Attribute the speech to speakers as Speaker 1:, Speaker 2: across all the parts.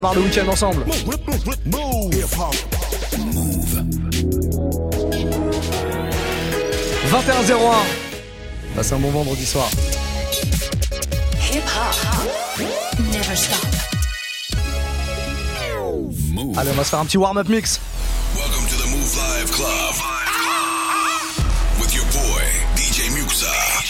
Speaker 1: Par le week-end ensemble.
Speaker 2: Move.
Speaker 1: 21-01. Passez un bon vendredi soir.
Speaker 3: Hip hop. Never stop.
Speaker 2: Move.
Speaker 1: Allez, on va se faire un petit warm-up mix.
Speaker 2: Welcome to the Move Live Club. With your boy, DJ Muxa.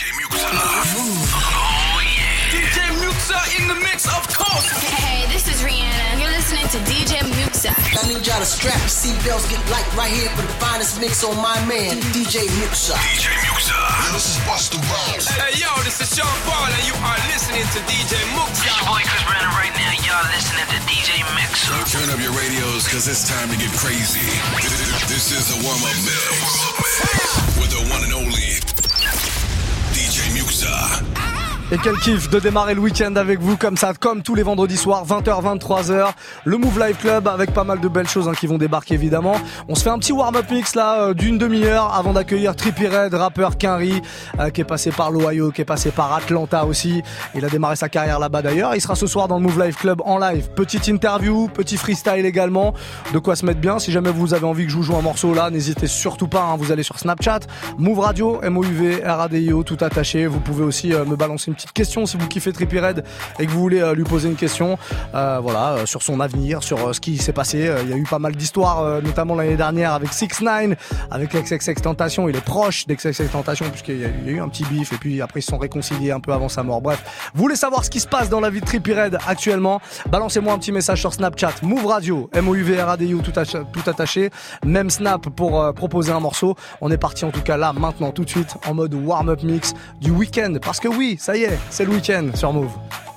Speaker 4: Oh yeah. DJ Muxa in the mix, of course.
Speaker 3: Hey, this is Rihanna. You're listening to DJ Muxa.
Speaker 5: I need y'all to strap your seatbelts, get light right here for the finest mix on my man, DJ Muxa.
Speaker 2: DJ Muxa. Yeah, this is Busta Rhymes.
Speaker 4: Hey yo, this is Sean Paul and you are listening to DJ Muxa.
Speaker 6: It's your boy Chris Brandon right now. Y'all listening to DJ Muxa.
Speaker 2: Turn up your radios, cause it's time to get crazy. This is the warm-up mix. With the one and only DJ Muxa.
Speaker 1: Et quel kiff de démarrer le week-end avec vous comme ça, comme tous les vendredis soirs, 20h, 23h. Le Move Live Club avec pas mal de belles choses qui vont débarquer évidemment. On se fait un petit warm-up mix là d'une demi-heure avant d'accueillir Trippie Redd, rappeur Quinry, qui est passé par l'Ohio, qui est passé par Atlanta aussi. Il a démarré sa carrière là-bas d'ailleurs. Il sera ce soir dans le Move Live Club en live. Petite interview, petit freestyle également. De quoi se mettre bien. Si jamais vous avez envie que je vous joue un morceau là, n'hésitez surtout pas. Vous allez sur Snapchat, Move Radio, MOUV, RADIO, tout attaché. Vous pouvez aussi me balancer une petite question si vous kiffez Trippie Redd et que vous voulez lui poser une question sur son avenir, sur ce qui s'est passé. Il y a eu pas mal d'histoires, notamment l'année dernière avec 6ix9ine, avec XXXTentacion. Il est proche d'XXXTentacion puisqu'il y a eu un petit bif et puis après ils se sont réconciliés un peu avant sa mort. Bref, vous voulez savoir ce qui se passe dans la vie de Trippie Redd actuellement, balancez-moi un petit message sur Snapchat, Move Radio, MOUV RADIO, tout attaché, même Snap pour proposer un morceau. On est parti en tout cas là maintenant tout de suite en mode warm-up mix du week-end parce que oui, ça y est, c'est le week-end sur Move.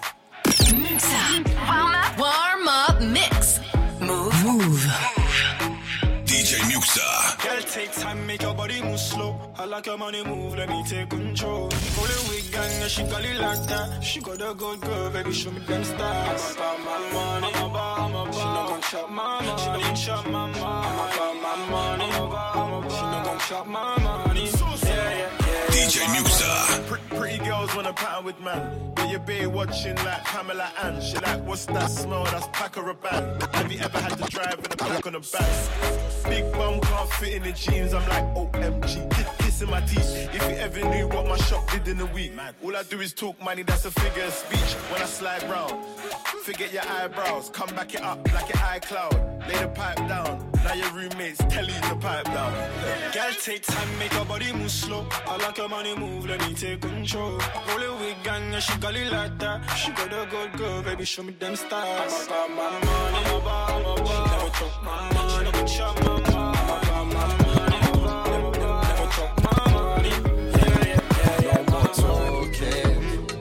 Speaker 3: Warm up mix. Move.
Speaker 2: DJ Muxa.
Speaker 7: Girl, take time, make your body move slow. I like your money move, let me take control. Roll it with gang, yeah, she got it like that. She got a good girl, baby, show me them stars. I'm about my money, I'm about. She not gon' chop my money, she not gon' chop my money. I'm about my money, I'm about. She not gon' chop my money. Yeah.
Speaker 2: DJ Muxa.
Speaker 7: Pretty girls wanna pattern with man. But your bae watching like Pamela Ann. She like, what's that smell? That's Paco Rabanne. Have you ever had to drive with a pack on the back? Big bum can't fit in the jeans. I'm like, OMG, kissing my teeth. If you ever knew what my shop did in a week, all I do is talk money, that's a figure of speech. When I slide round, forget your eyebrows. Come back it up like your iCloud. Lay the pipe down. Now your roommates tell you to pipe down. Girl, take time, make your body move slow. I like your money move, let me take control. Roll it with gang, yeah, she got it like that. She got a good girl, baby, show me them stars. I'm about my money, I'm about. She never chop my money, she never chop my money. I'm about my money, never chop my money. Yeah.
Speaker 8: No more talking.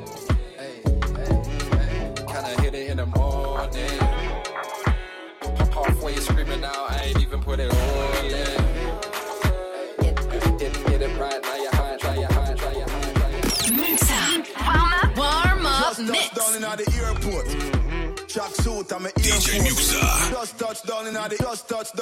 Speaker 8: Hey. Kinda hit it in the morning. Halfway screaming out, I ain't even put it on yet. Hit it right, now you're high, try your high.
Speaker 3: Warm up mix.
Speaker 9: Down in the airport. Tracksuit, I'm an
Speaker 2: DJ Muxa.
Speaker 9: Just touch down in the. Just touch.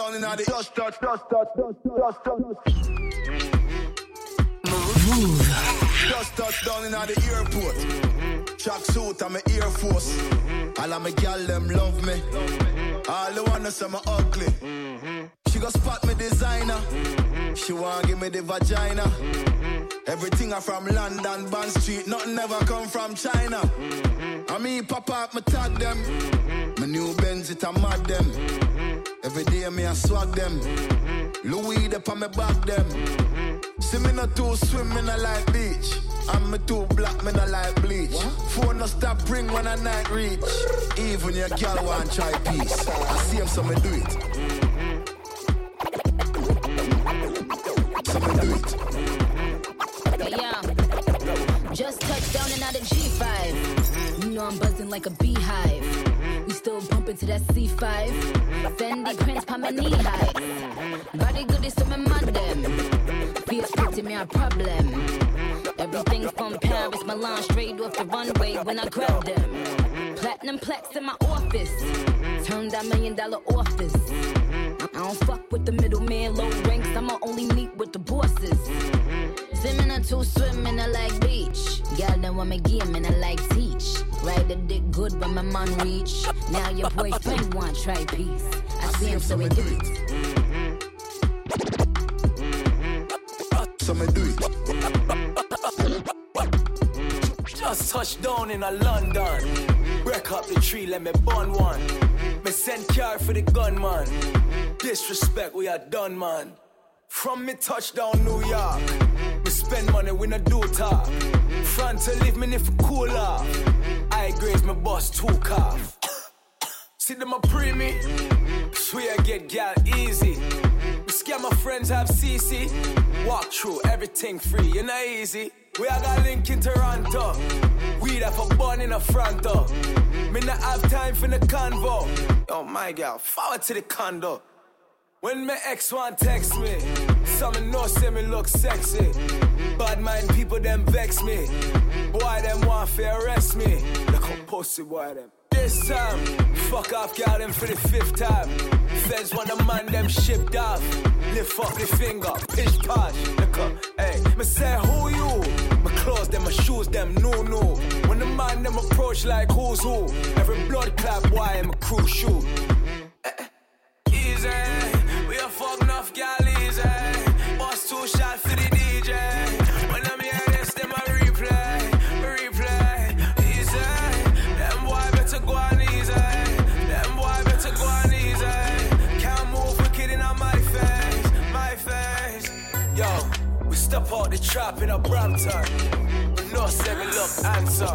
Speaker 3: Move.
Speaker 9: Just touch down in the airport. Tracksuit, I'm an Air Force. All of my gal them love me. All the wanna say me ugly. She gon' spot me designer. She wanna give me the vagina. Everything I from London, Bond Street. Nothing ever come from China. I mean, pop up, me tag them. My new Benz, it a mad them. Every day me I swag them. Louis, they pa me back them. See me not too swim, me not like beach. And me too black, me not like bleach. Phone no stop ring when I night reach. Even your girl want try peace. I see him, so me do it. So me do it.
Speaker 10: Yeah. Just touched down and out of G5. You know I'm buzzing like a beehive. We still bumping to that C5. Fendi prints pa my knee high. Body good is to my madam. Fierce putting me a problem. Everything from Paris, Milan, straight off the runway when I grab them. Platinum plex in my office. Turn that $1 million office. I don't fuck with the middleman, low ranks. I'ma only meet with the bosses. Swimming or two, swimming I like beach. Girl, don't want me game and I like teach. Ride the dick good when my man reach. Now your boyfriend want try peace. I see him so we do it.
Speaker 9: So me do it.
Speaker 11: Just touched down in a London. Break up the tree, let me burn one. Me send car for the gunman. Disrespect, we are done, man. From me touchdown New York. Me spend money, we no do talk. Front to leave me if cool off. I graze my boss two calf. See them a pre me. Swear I get gal easy. Me scare my friends have CC. Walk through everything free, you know easy. We are got link in Toronto. We have a bun in the front door. Me not have time for the convo. Oh my girl, forward to the condo. When my ex want text me, some know say me look sexy. Bad mind people them vex me. Boy them want to arrest me. Look how pussy boy them. This time, fuck off girl them for the 5th time. Feds want the man them shipped off. Lift up the finger, pitch posh. Look up, hey, me say who you? My clothes them, my shoes them, no. When the man them approach like who's who. Every blood clap, why am a crew shoot? Easy, we a fuck enough gal easy. Boss 2 shot for the DJ. When I'm here this, them a replay. Easy, them boy better go on easy. Them boy better go on easy. Can't move wicked in my face. Yo, we step out the trap in a Brampton. No say me look handsome.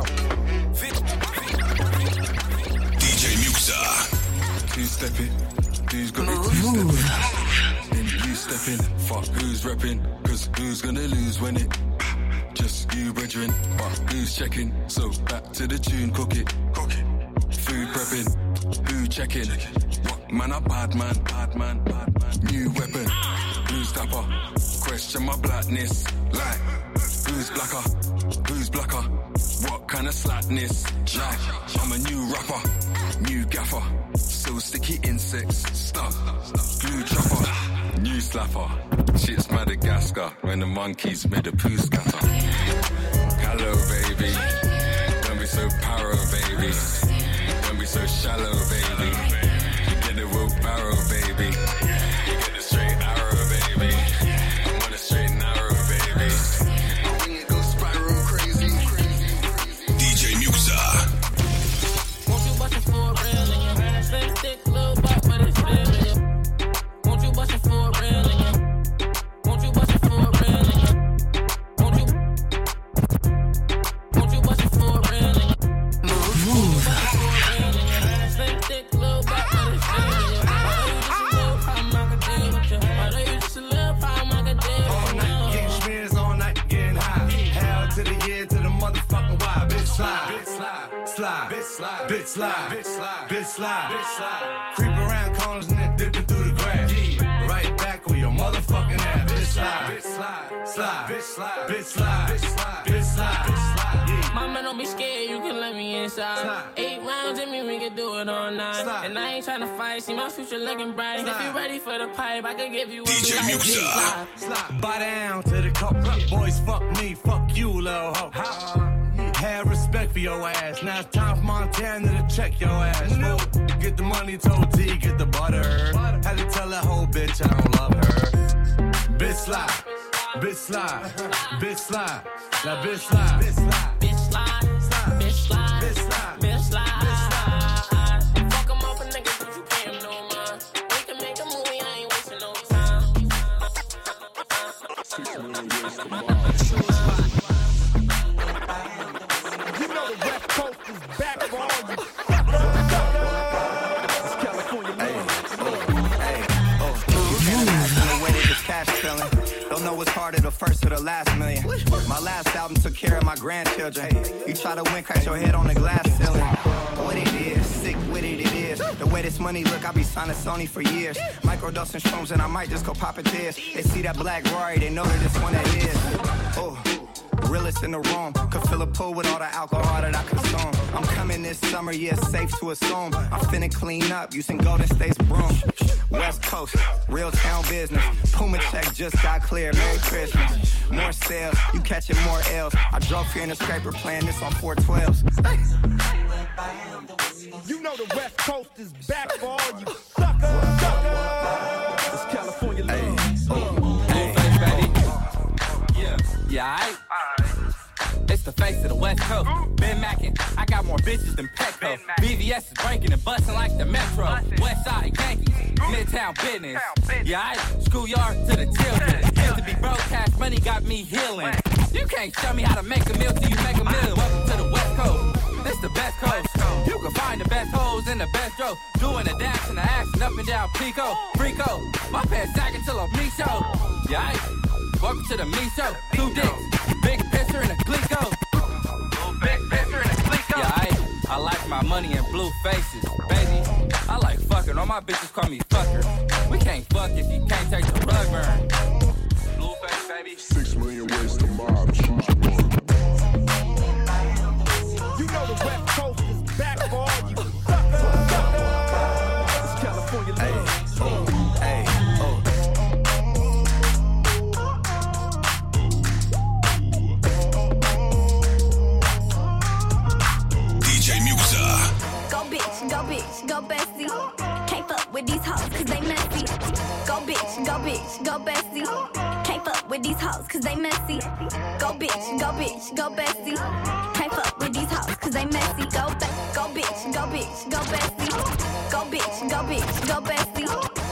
Speaker 2: DJ Muxa.
Speaker 12: Who's stepping? Who's got it? Who's stepping? Fuck who's repping? Cause who's gonna lose when it? Just you, brethren. But who's checking? So back to the tune, cook it. Food prepping. Who checking? What man a bad man? New weapon. Who's dapper? Question my blackness. Like who's blacker? What kind of slackness? Like I'm a new rapper, new gaffer. So sticky insects, stuff, glue chopper, new slapper. Shit's Madagascar when the monkeys made a poo scatter. Hello, baby. Don't be so paro, baby. Don't be so shallow, baby. You get the wheelbarrow, baby. You get the straight arrow, baby. I'm on a straight narrow, baby. When you go spiral crazy.
Speaker 2: DJ Muxa.
Speaker 13: Won't you bust it for a real nigga? Slim thick little butt, but it's real nigga. Won't you bust it for a real nigga? Won't you bust it for a real nigga? Won't you bust it for a real nigga? Move. Slim thick little butt, but it's real nigga. Why you just a little problem I could deal?
Speaker 14: All night getting smears, all night getting high. Hell to the year, to the motherfucking why. Bitch slide, bitch slide. Creep around corners and then dipping through the grass. Right back on your motherfucking ass. Bitch slide.
Speaker 13: Mama, don't be scared, you can let me inside. 8 rounds in me, we can do it all night. And I ain't tryna fight, see my future looking bright. If you ready for the pipe, I can give you what
Speaker 2: DJ
Speaker 13: you like.
Speaker 2: Muxa.
Speaker 14: Slide. Buy down to the cup. Boys, fuck me, fuck you, little hoe. Have respect for your ass. Now it's time for Montana to check your ass. Get the money, told T, get the butter. Had to tell that whole bitch I don't love her. Bitch slide. Now bitch slide.
Speaker 13: Fuck 'em off a nigga, but you pay him no mind. We can make a movie, I ain't wasting no time.
Speaker 15: You know the West Coast is back for all you. This is California
Speaker 16: Don't know what's harder, the first or the last million. My last album took care of my grandchildren. You try to win, crack your head on the glass ceiling. What it is, sick with it is. The way this money look, I be signing Sony for years. Microdosing shrooms and I might just go pop a tears. They see that black Rory, they know that it's one that is. Oh. realest in the room. Could fill a pool with all the alcohol that I consume. I'm coming this summer, yeah, it's safe to assume. I'm finna clean up using Golden State's broom. West Coast, real town business. Puma check just got clear. Merry Christmas. More sales, you catching more L's. I drove here in a scraper playing this on 412s.
Speaker 15: You know the West Coast is back for all you suckers. It's California love.
Speaker 17: Blueface, baby. Yeah, aight. It's the face of the West Coast. Been mackin', I got more bitches than Petco. BVS is breaking and bustin' like the Metro. West Side Yankees, Midtown business. Yeah, aight. Schoolyard to the children. Used to be broke, cash money got me healing. You can't show me how to make a meal till you make a meal. Welcome to the West Coast. This the best coast. You can find the best hoes in the best row. Doing a dash and a action up and down Pico. Frico. My pants sagging till I'm me show. Yeah, aight. Welcome to the me show. 2 dicks. Big pisser and a glico. Big pisser and a glico. Yeah, I like my money in blue faces. Baby, I like fucking. All my bitches call me fucker. We can't fuck if you can't take the rug burn. Blue face, baby.
Speaker 7: 6 million ways to mob. Choose your one.
Speaker 15: You know the West Coast is back for all you suckers. It's California love.
Speaker 2: DJ Muxa.
Speaker 10: Go bitch, go bestie. Can't fuck with these hoes cause they messy. Go bitch, go bestie. Can't fuck with these hoes cause they messy. Go bitch, go bestie. Can't fuck with these hoes cause they messy. Go bitch, go bestie. Go bitch, go bestie. Go bitch, go bestie.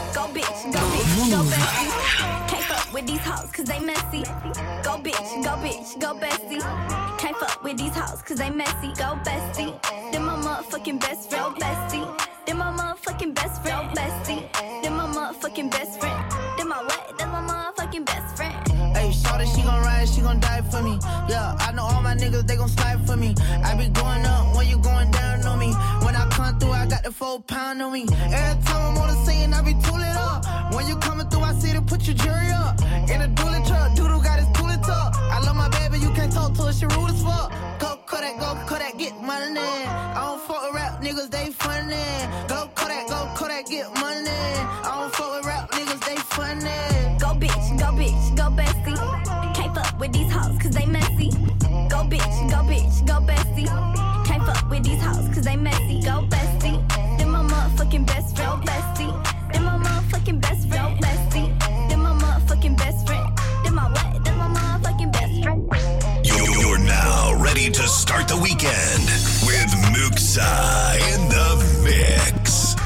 Speaker 10: Can't fuck with these hoes cause they messy. Go bitch, go bestie. Can't fuck with these hoes cause they messy. Go bestie. Then my motherfucking best friend, bestie. Then my motherfucking best friend, bestie. Then my motherfucking best friend. Then my what? That's my motherfucking best friend.
Speaker 18: Hey, shorty, she gon' ride, she gon' die for me. Yeah, I know all my niggas, they gon' slide for me. I be going up when you going down on me. When I come through, I got the 4 pound on me. Every time I'm on the scene, I be tooling up. When you coming through, I see to put your jury up. In a dually truck, Doodle got his tooling tuck. I love my baby, you can't talk to her, she rude as fuck. Go Kodak, get money. I don't fuck with rap niggas, they funny. Go Kodak, get money. I don't fuck with rap niggas, they funny.
Speaker 10: Go bitch, go bestie. Can't fuck with these hoes cause they messy. Go bitch, go bestie. Can't fuck with these hoes cause they messy. Go bestie. Then my motherfucking best friend, bestie. Then my motherfucking best friend, bestie. Then my motherfucking best friend. Then my what? Then my motherfucking best friend.
Speaker 2: You're now ready to start the weekend with Muxa in the mix.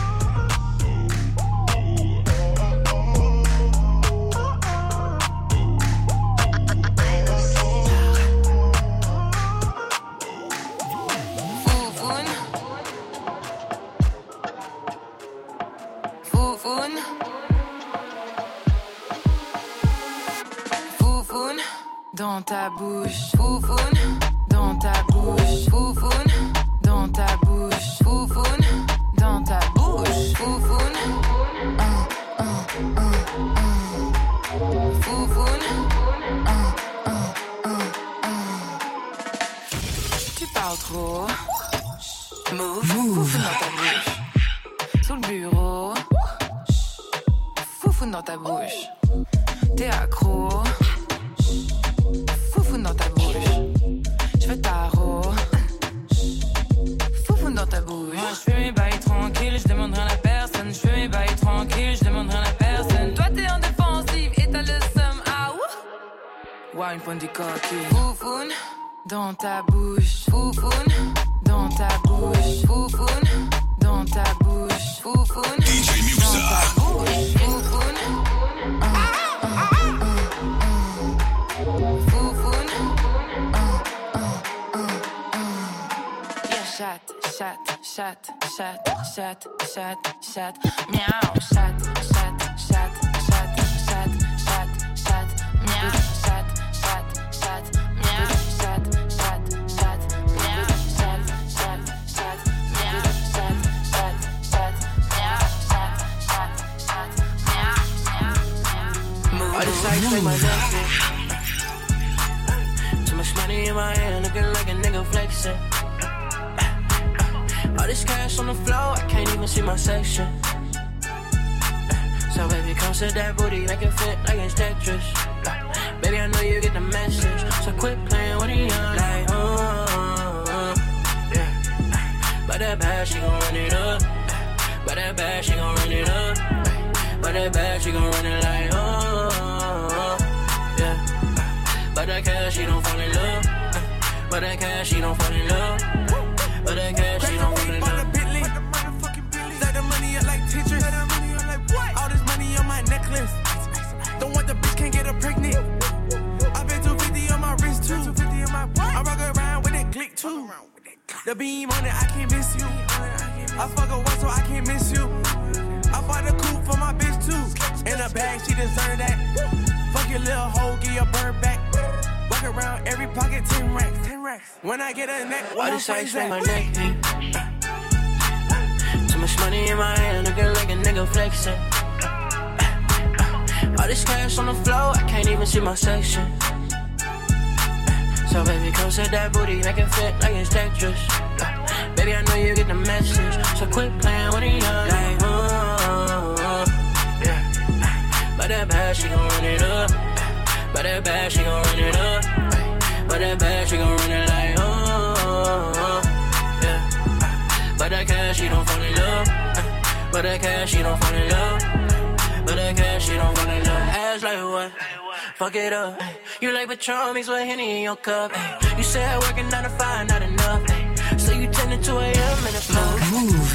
Speaker 19: Dans ta bouche, foufoune, dans ta bouche, foufoune, dans ta bouche, foufoune, dans ta bouche, foufoune, foufoune, tu parles trop, move, foufoune dans ta bouche, sous le bureau, foufoune dans ta bouche, t'es accro. Foufoune dans ta bouche, je veux tarot. Foufoune dans ta bouche. Moi je fais mes bails tranquilles, je demande rien à personne. Je fais mes bails tranquilles, je demande rien à personne. Toi t'es en défensive et t'as le seum, ah ouh. Ouais, une pointe du coquille. Foufoune dans ta bouche, foufoune dans ta bouche, foufoune dans ta bouche, foufoune.
Speaker 2: DJ Muxa.
Speaker 19: Foufoune. Chat, miaou, chat, miaou, chat, miaou,
Speaker 18: All this ice make my neck sick. Too much money
Speaker 20: money in my hand, looking like a nigga flexing. All this cash on the floor, I can't even see my section. So baby, come set that booty, make it fit like it's Tetris. Baby, I know you get the message, so quit playing with the young. Like, yeah. But that bad, she gon' run it up. But that bad, she gon' run it up. But that bad, she gon' run it like, yeah. But that cash, she don't fall in love. But that cash, she don't fall in love. But that cash, she don't fall in love.
Speaker 14: Set the money up like Tetris. All this money on my necklace. Don't want the bitch, can't get her pregnant. I bet 250 on my wrist too. I rock around with that click too. The beam on it, I can't miss you. I fuck her once so I can't miss you. I bought a coupe for my bitch too. In a bag, she deserve that. Fuck your little hoe, get your bird back. Walk around every pocket, 10 racks. When I get a neck,
Speaker 20: all this ice on my neck, too much money in my hand, looking like a nigga flexing. All this cash on the floor, I can't even see my section. So baby, come set that booty, make it fit like it's Tetris. Baby, I know you get the message, so quit playing with the young. Like, yeah. But that bad, she gon' run it up. But that bad, she gon' run it up. But that bad, she gon' run it like, yeah. But that cash, she don't fall in love. But that cash, she don't fall in love. But that cash, she don't fall in love. Ass like what? Fuck it up. You like Patron mixed with Henny in your cup. You said working 9 to 5, not enough. So you 10 to 2 a.m. in the club. Move.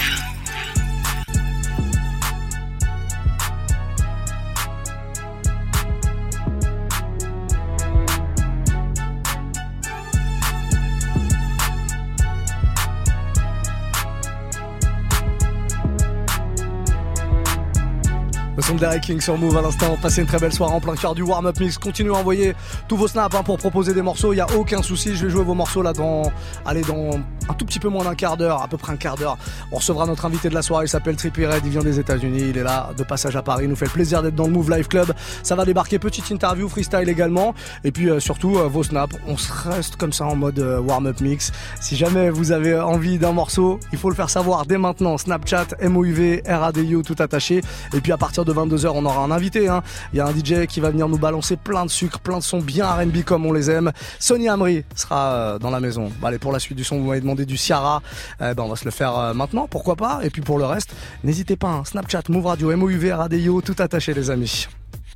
Speaker 1: Le son de Derek King sur Move à l'instant. Passez une très belle soirée en plein cœur du warm-up mix. Continuez à envoyer tous vos snaps pour proposer des morceaux. Il n'y a aucun souci. Je vais jouer vos morceaux là dans un tout petit peu moins d'un quart d'heure, à peu près un quart d'heure. On recevra notre invité de la soirée. Il s'appelle Trippie Redd. Il vient des États-Unis. Il est là de passage à Paris. Il nous fait le plaisir d'être dans le Move Live Club. Ça va débarquer. Petite interview, freestyle également. Et puis surtout vos snaps. On se reste comme ça en mode warm-up mix. Si jamais vous avez envie d'un morceau, il faut le faire savoir dès maintenant. Snapchat, MOUV, RADIO, tout attaché. Et puis à partir de 22h, on aura un invité. Il y a un DJ qui va venir nous balancer plein de sucre, plein de sons bien R&B comme on les aime. Sonny Amri sera dans la maison. Allez, pour la suite du son, vous m'avez demandé du Ciara. On va se le faire maintenant, pourquoi pas. Et puis pour le reste, n'hésitez pas. Snapchat, Move Radio, MOUV, RADIO, tout attaché les amis.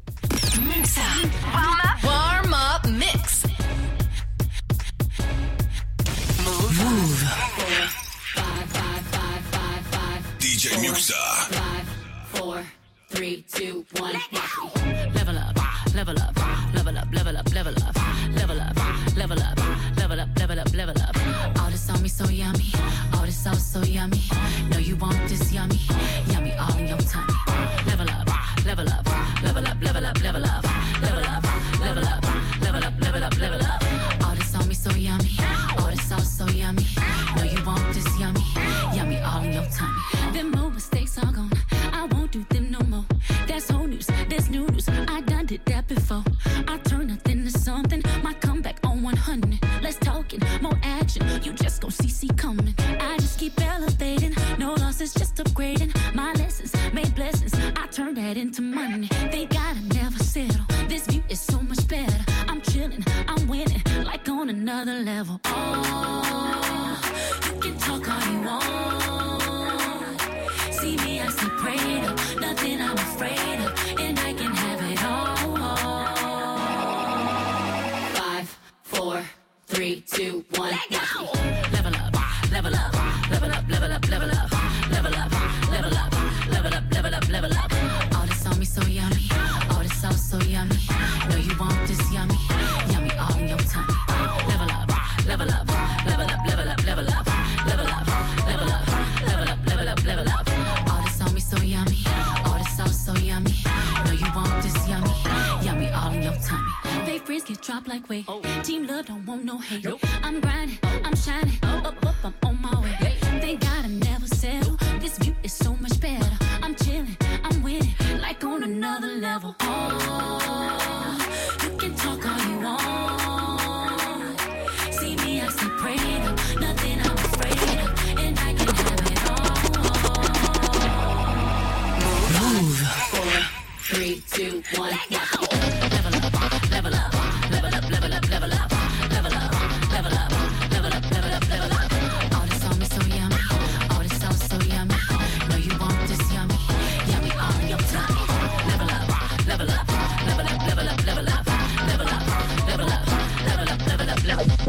Speaker 3: Warm up mix.
Speaker 2: Move. DJ Muxa.
Speaker 10: 4, 3, 2, 1. Level up, level up, level up, level up, level up, level up, level up, level up, level up, level up. All this on me so yummy, all this sauce so yummy. Know you want this yummy, yummy all in your tummy. Level up, level up, level up, level up, level up, level up, level up, level up, level up, level up. All this on me so yummy, all this sauce so yummy. Know you want this yummy, yummy all in your tummy. Them old mistakes are gone. I won't do them no more. That's old news, that's new news. I done did that before. I turn nothing to something. My comeback on 100. Let's talk it, more action. You just gon' see coming. I just keep elevating. No losses, just upgrading. My lessons made blessings. I turn that into money. They gotta never settle. This view is so much better. I'm chilling, I'm winning, like on another level. Oh, you can talk all you want. See me, I see prayed up, nothing I'm afraid of, and I can have it all. 5, 4, 3, 2, 1. Level up, level up, level up, level up, level up, level up, level up, level up, level up, level up. All this on me so yummy, all this sauce so yummy. Know you want this yummy, yummy all in your tummy. Level up, level up, level up, level up, level up, level up, level up, level up, level up, level up. All this on me so yummy, all this sauce so yummy. Know you want this yummy, yummy all in your tummy. They freeze get dropped like weight. Team love don't want no hate. I'm grinding, I'm shining, up, I'm on my way. They gotta never settle. This view is so much better. I'm chilling, I'm winning, like on another level. Oh, you can talk all you want. one. Level up, level up, level up, level up, level up, level up, level up, level up, level up, level up. All this on me so yummy, all this sauce so yummy. Know you want this yummy, yummy on your tummy. Level up, level up, level up, level up, level up, level up, level up, level up, level up, level up.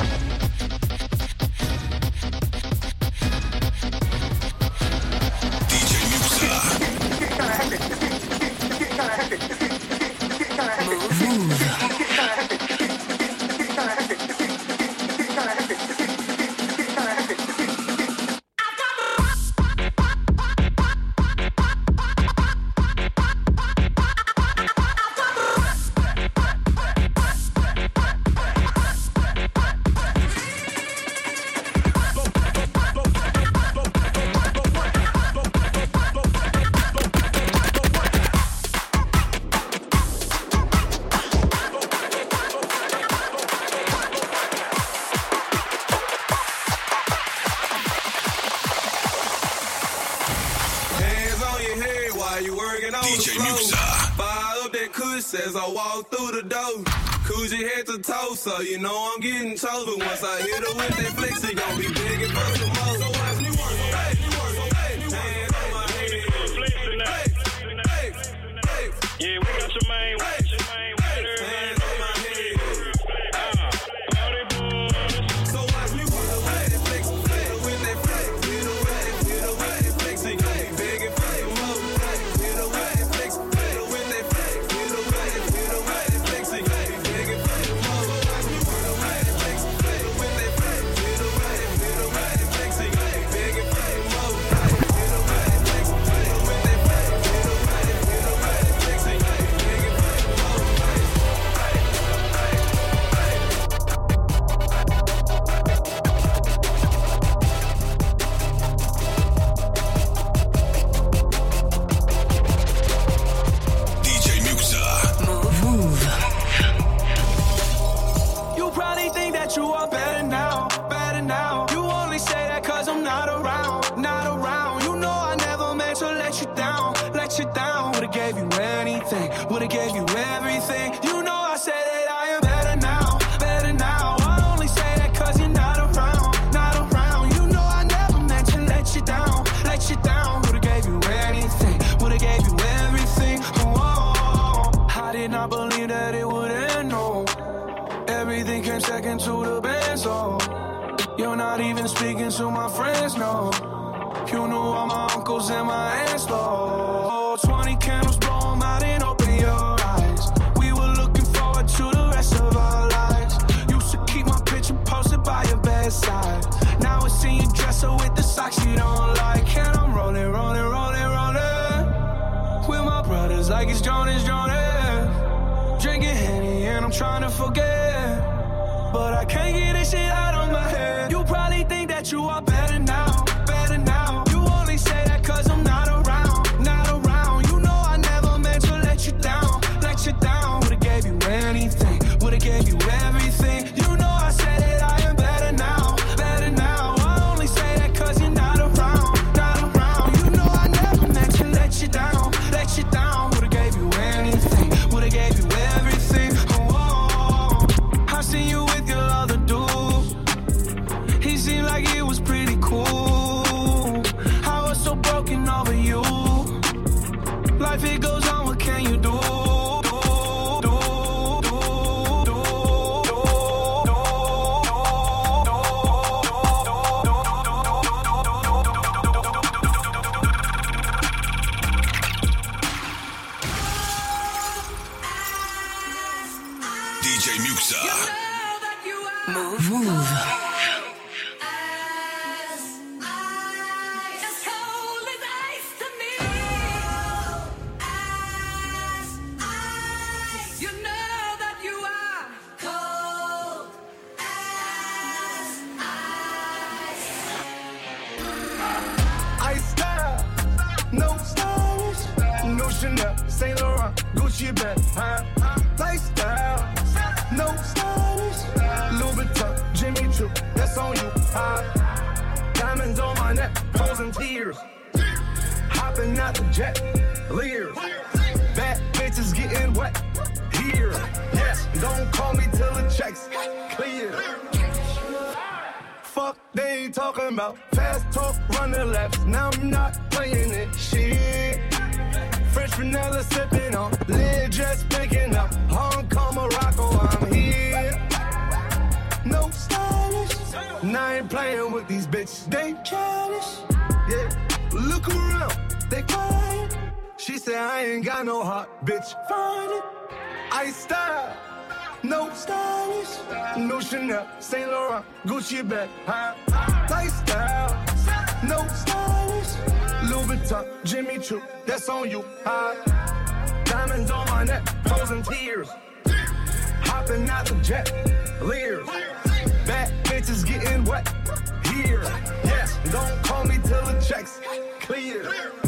Speaker 4: As I walk through the door, Coogee head to toe, so you know I'm getting chose. But once I hit her with that flex, it gon' be big and for some more. So watch me work, hey, hands on my head, yeah, we got your main watch, hands on my head, all they boys. So watch me work, hey, flex, with that flex, hit her with that flex, it gon' be big and for some more. Hit her with that flex, with that flex. Would've gave you everything. You know I said that I am better now, better now. I only say that cause you're not around, not around. You know I never meant to let you down, let you down. Would've gave you anything, would've gave you everything. Oh, I did not believe that it would end, no. Everything came second to the best, oh. You're not even speaking to my friends, no. You knew all my uncles and my aunts, Lord. 20 candles, blow them out and open your eyes. We were looking forward to the rest of our lives. Used to keep my picture posted by your bedside. Now it's in your dresser with the socks you don't like. And I'm rolling, rolling, rolling, rolling with my brothers like it's Jonas, Jonas. Drinking Henny and I'm trying to forget, but I can't get this shit out of my head. You probably think that you are better now, better now. You only say that cause I'm not around, not around. You know I never meant to let you down, let you down. Would've gave you anything, would've gave you everything. You know I said that I am better now, better now. I only say that cause you're not around, not around. You know I never meant to let you down, let you down. Would've gave you anything, would've gave you everything. Oh, I seen you with your other dude. He seemed like it was pretty cool. I was so broken over you. Life it goes on, what can you do?
Speaker 2: DJ Muxa.
Speaker 10: Move.
Speaker 9: Chanel, Saint Laurent, Gucci bag, lifestyle, no stylish, Louis Vuitton, Jimmy Choo, that's on you, diamonds on my neck, frozen tears, hopping out the jet, Lears, bad bitches getting wet,
Speaker 14: here. Yes, don't call me till the checks clear. Fuck, they ain't talking about fast talk, running laps. Now I'm not playing it. Shit. French vanilla sipping on, lid just picking up. Hong Kong, Morocco, I'm here. No stylish. Now I ain't playing with these bitches. They childish. Yeah, look around, they quiet. She said I ain't got no heart, bitch. Find it. I style. No stylish, no Chanel, Saint Laurent, Gucci bag, high lifestyle. No stylish, Louis Vuitton, Jimmy Choo, that's on you. High diamonds on my neck, frozen tears. Hopping out the jet, leers. Bad bitches getting wet here. Yes, don't call me till the checks clear.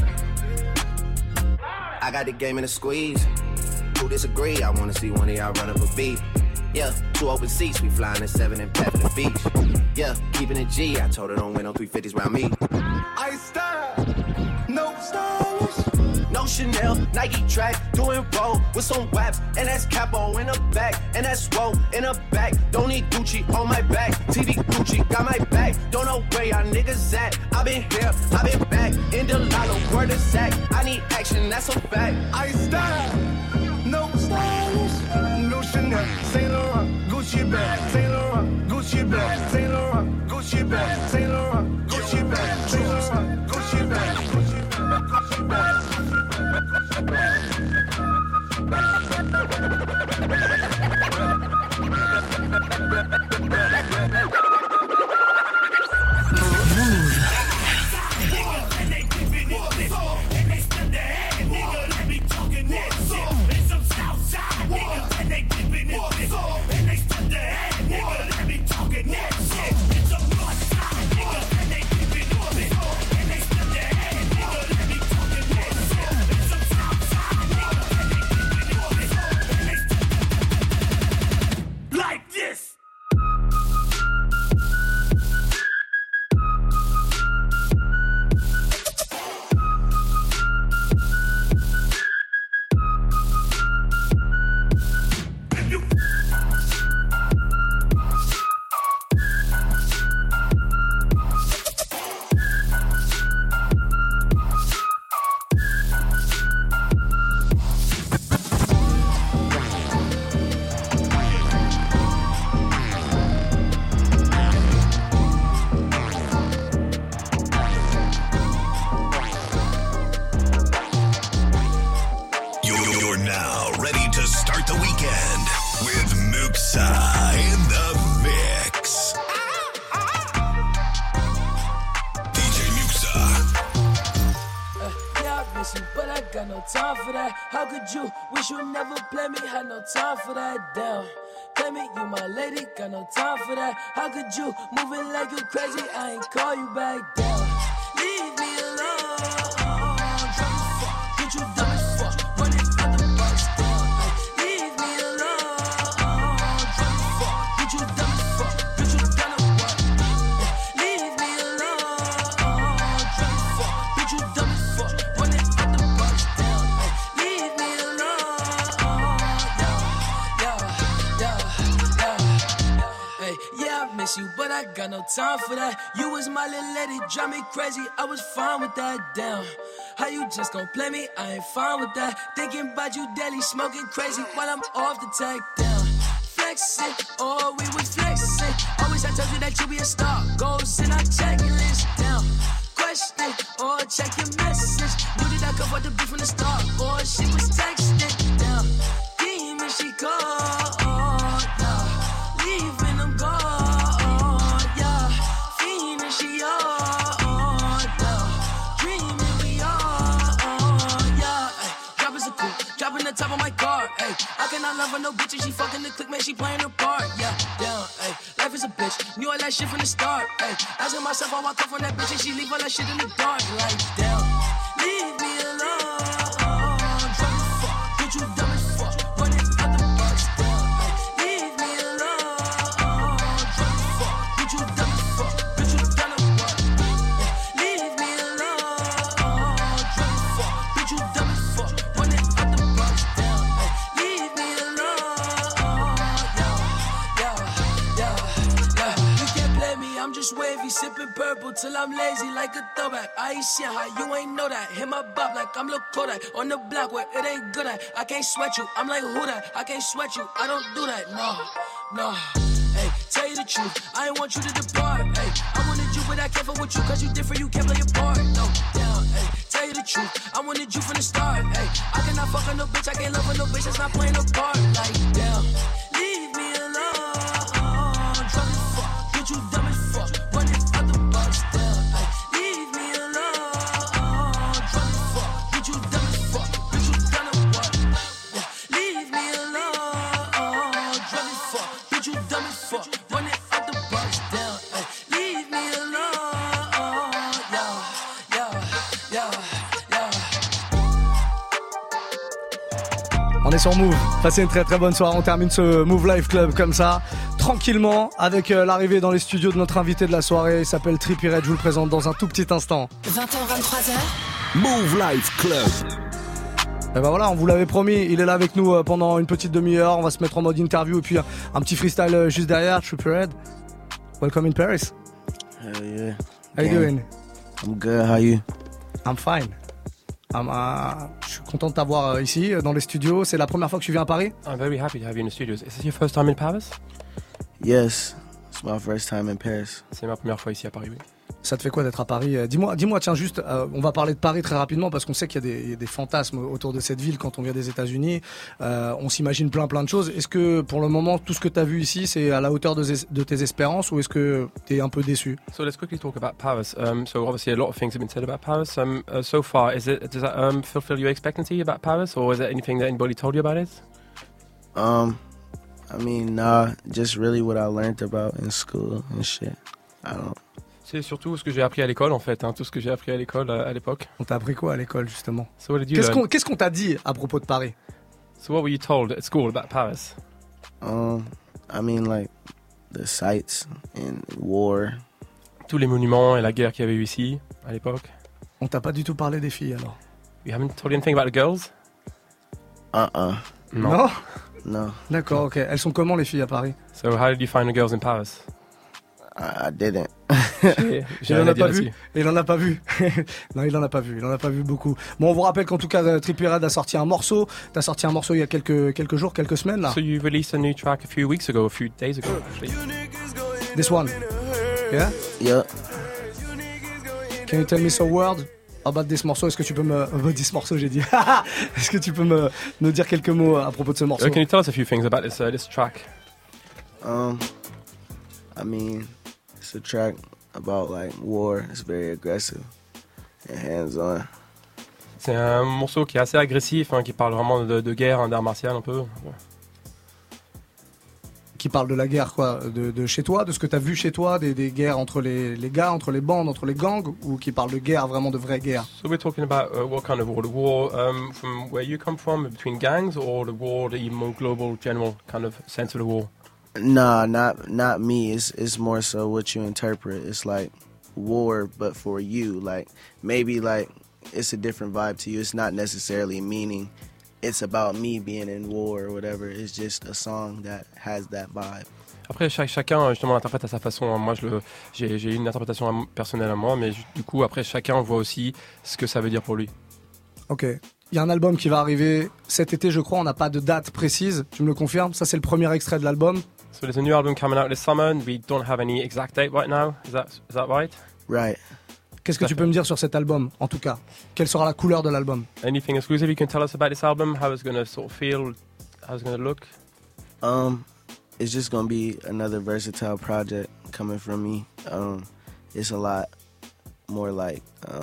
Speaker 21: I got the game in a squeeze. Who disagree? I wanna see one of y'all run up a beat. Yeah, 2 open seats, we flying in 7 and pet for the beach. Yeah, keeping it G, I told her don't win no 350s round me.
Speaker 14: I style, no stylish.
Speaker 21: No Chanel, Nike track, doing roll with some waps, and that's capo in the back, and that's roll in the back. Don't need Gucci on my back, TV Gucci got my back. Don't know where y'all niggas at. I been here, I been back, in the lotto, word of sack. I need action, that's a fact.
Speaker 14: I style, no stylish, no Chanel, Saint Laurent, Gucci bag, Saint Laurent, Gucci bag, Saint Laurent, Gucci bag, Saint Laurent, Gucci bag, Saint Laurent, Gucci bag, Gucci bag.
Speaker 19: Time for that, damn. Play me, you my lady, got no time for that. How could you move it like you crazy? I ain't call you back down. Leave me alone. Drunk as fuck, get you dumb as fuck. Running out the box down. Leave me alone. Drunk as fuck, get you dumb as fuck. Get you down to what? Leave me alone. Drunk as fuck, get you dumb as fuck. Running out the box down. Leave me alone. Yeah, I miss you, but I got no time for that. You was my little lady, drive me crazy. I was fine with that, damn. How you just gon' play me? I ain't fine with that. Thinking about you daily, smoking crazy while I'm off the tag, down. Flexing, oh, we was flexing. Always I told you that you be a star. Goals in our checklist, down. Question, or check your message. Knew that I could afford the beat from the start. Or she was texting, down. Demon, she called, yeah. Leaving them gone, yeah. Fiending, she on, yeah. Dreaming, we on, yeah. Ay, drop is a coupe, dropping the top of my car, ay. I cannot love her, no bitch, and she fucking the click, man, she playing her part, yeah. Down, ay. Life is a bitch, knew all that shit from the start, ay. Asking myself how I come from that bitch, and she leave all that shit in the dark, like, down. Leave me alone, drunk as fuck, get you dumb as fuck, running out the box, down, ay. Leave me alone, drunk as fuck, get you dumb as fuck, get you down to what? Leave me alone, drunk as fuck, get you dumb as fuck, running out the box, down, ay. Leave me alone.
Speaker 11: sipping purple till I'm lazy like a throwback. I ain't shit high, you ain't know that. Hit my bop like I'm Lil Kodak. On the block where it ain't good at. I can't sweat you, I'm like who that? I can't sweat you, I don't do that, no. Hey, tell you the truth, I ain't want you to depart. Hey, I wanted you, but I can't fuck with you, cause you different, you can't play your part. No, down, hey, tell you the truth, I wanted you from the start. Hey, I cannot fuck on no bitch, I can't love on no bitch that's not playing a part. Like, damn, leave me alone. Drunk as fuck, get you dumb as fuck, running out the box down. Hey, leave me alone. Drunk as fuck, get you dumb as fuck, get you done as what? Yeah, leave me alone. Drunk as fuck, get you dumb as fuck, running out the box down. Hey, leave me alone. Yeah.
Speaker 1: On est sur Move, passez une très très bonne soirée, on termine ce Move Life Club comme ça, tranquillement, avec l'arrivée dans les studios de notre invité de la soirée, il s'appelle Trippie Redd, je vous le présente dans un tout petit instant.
Speaker 3: 20h, 23h.
Speaker 2: Move Life Club.
Speaker 1: Et ben voilà, on vous l'avait promis, il est là avec nous pendant une petite demi-heure, on va se mettre en mode interview et puis un petit freestyle juste derrière. Trippie Redd, welcome in Paris.
Speaker 5: Hell yeah.
Speaker 1: How you doing?
Speaker 5: I'm good, how you?
Speaker 1: I'm fine. Je suis content de t'avoir ici dans les studios. C'est la première fois que tu viens à Paris?
Speaker 22: I'm very happy to have you in the studios. Is this your first time in Paris?
Speaker 5: Yes, it's my first time in Paris.
Speaker 22: C'est ma première fois ici à Paris, oui.
Speaker 1: Ça te fait quoi d'être à Paris? Dis-moi, tiens, juste, on va parler de Paris très rapidement parce qu'on sait qu'il y a des fantasmes autour de cette ville quand on vient des États-Unis. On s'imagine plein de choses. Est-ce que pour le moment, tout ce que tu as vu ici, c'est à la hauteur de tes espérances ou est-ce que tu es un peu déçu?
Speaker 22: So let's quickly talk about Paris. So obviously a lot of things have been said about Paris. So far, does that fulfill your expectancy about Paris, or is there anything that anybody told you about it?
Speaker 5: I mean, nah, just really what I learned about in school and shit. I don't.
Speaker 22: C'est surtout ce que j'ai appris à l'école en fait, tout ce que j'ai appris à l'école à l'époque.
Speaker 1: On t'a appris quoi à l'école justement?
Speaker 22: So what did you learn?
Speaker 1: Qu'est-ce qu'on t'a dit à propos de Paris?
Speaker 22: So what were you told at school about Paris?
Speaker 5: I mean like the sights and war.
Speaker 22: Tous les monuments et la guerre qu'il y avait eu ici à l'époque.
Speaker 1: On t'a pas du tout parlé des filles alors?
Speaker 22: You haven't told you anything about the girls?
Speaker 1: Non?
Speaker 5: No.
Speaker 1: D'accord, ok. Elles sont comment les filles à Paris?
Speaker 22: So how did you find the girls in Paris?
Speaker 5: I didn't.
Speaker 1: Il en a pas vu. Il en a pas vu. Non, il en a pas vu. Il en a pas vu beaucoup. Bon, on vous rappelle qu'en tout cas, Trippie Redd a sorti un morceau. T'as sorti un morceau il y a quelques jours, quelques semaines là.
Speaker 22: So you released a new track a few days ago actually.
Speaker 1: This one. Yeah?
Speaker 5: Yeah.
Speaker 1: Can you tell me some word about this morceau? Est-ce que tu peux this morceau, j'ai dit. Est-ce que tu peux me dire quelques mots à propos de ce morceau?
Speaker 22: Can you tell us a few things about this track?
Speaker 5: I mean, it's a track about like war. It's very aggressive and hands-on.
Speaker 22: C'est un morceau qui est assez agressif, qui parle vraiment de guerre, d'art martial un peu. Ouais.
Speaker 1: Qui parle de la guerre quoi, de chez toi, de ce que t'as vu chez toi, des guerres entre les gars, entre les bandes, entre les gangs, ou qui parle de guerre, vraiment de vraie guerre?
Speaker 22: So we're talking about what kind of war? The war from where you come from, between gangs, or the war, the even more global, general kind of sense of the war?
Speaker 5: Nah, not me. It's more so what you interpret. It's like war, but for you. Like maybe like it's a different vibe to you. It's not necessarily meaning it's about me being in war or whatever. It's just a song that has that vibe.
Speaker 22: Après, chacun justement l'interprète à sa façon. Moi, j'ai une interprétation personnelle à moi, mais du coup, après, chacun voit aussi ce que ça veut dire pour lui.
Speaker 1: Ok. Il y a un album qui va arriver cet été, je crois. On n'a pas de date précise. Tu me le confirmes? Ça, c'est le premier extrait de l'album.
Speaker 22: So there's a new album coming out this summer, and we don't have any exact date right now. Is that right?
Speaker 5: Right.
Speaker 1: Qu'est-ce que tu peux me dire sur cet album, en tout cas? Quelle sera la couleur de l'album?
Speaker 22: Anything exclusive you can tell us about this album? How it's going to sort of feel? How it's going to look?
Speaker 5: It's just going to be another versatile project coming from me. It's a lot more like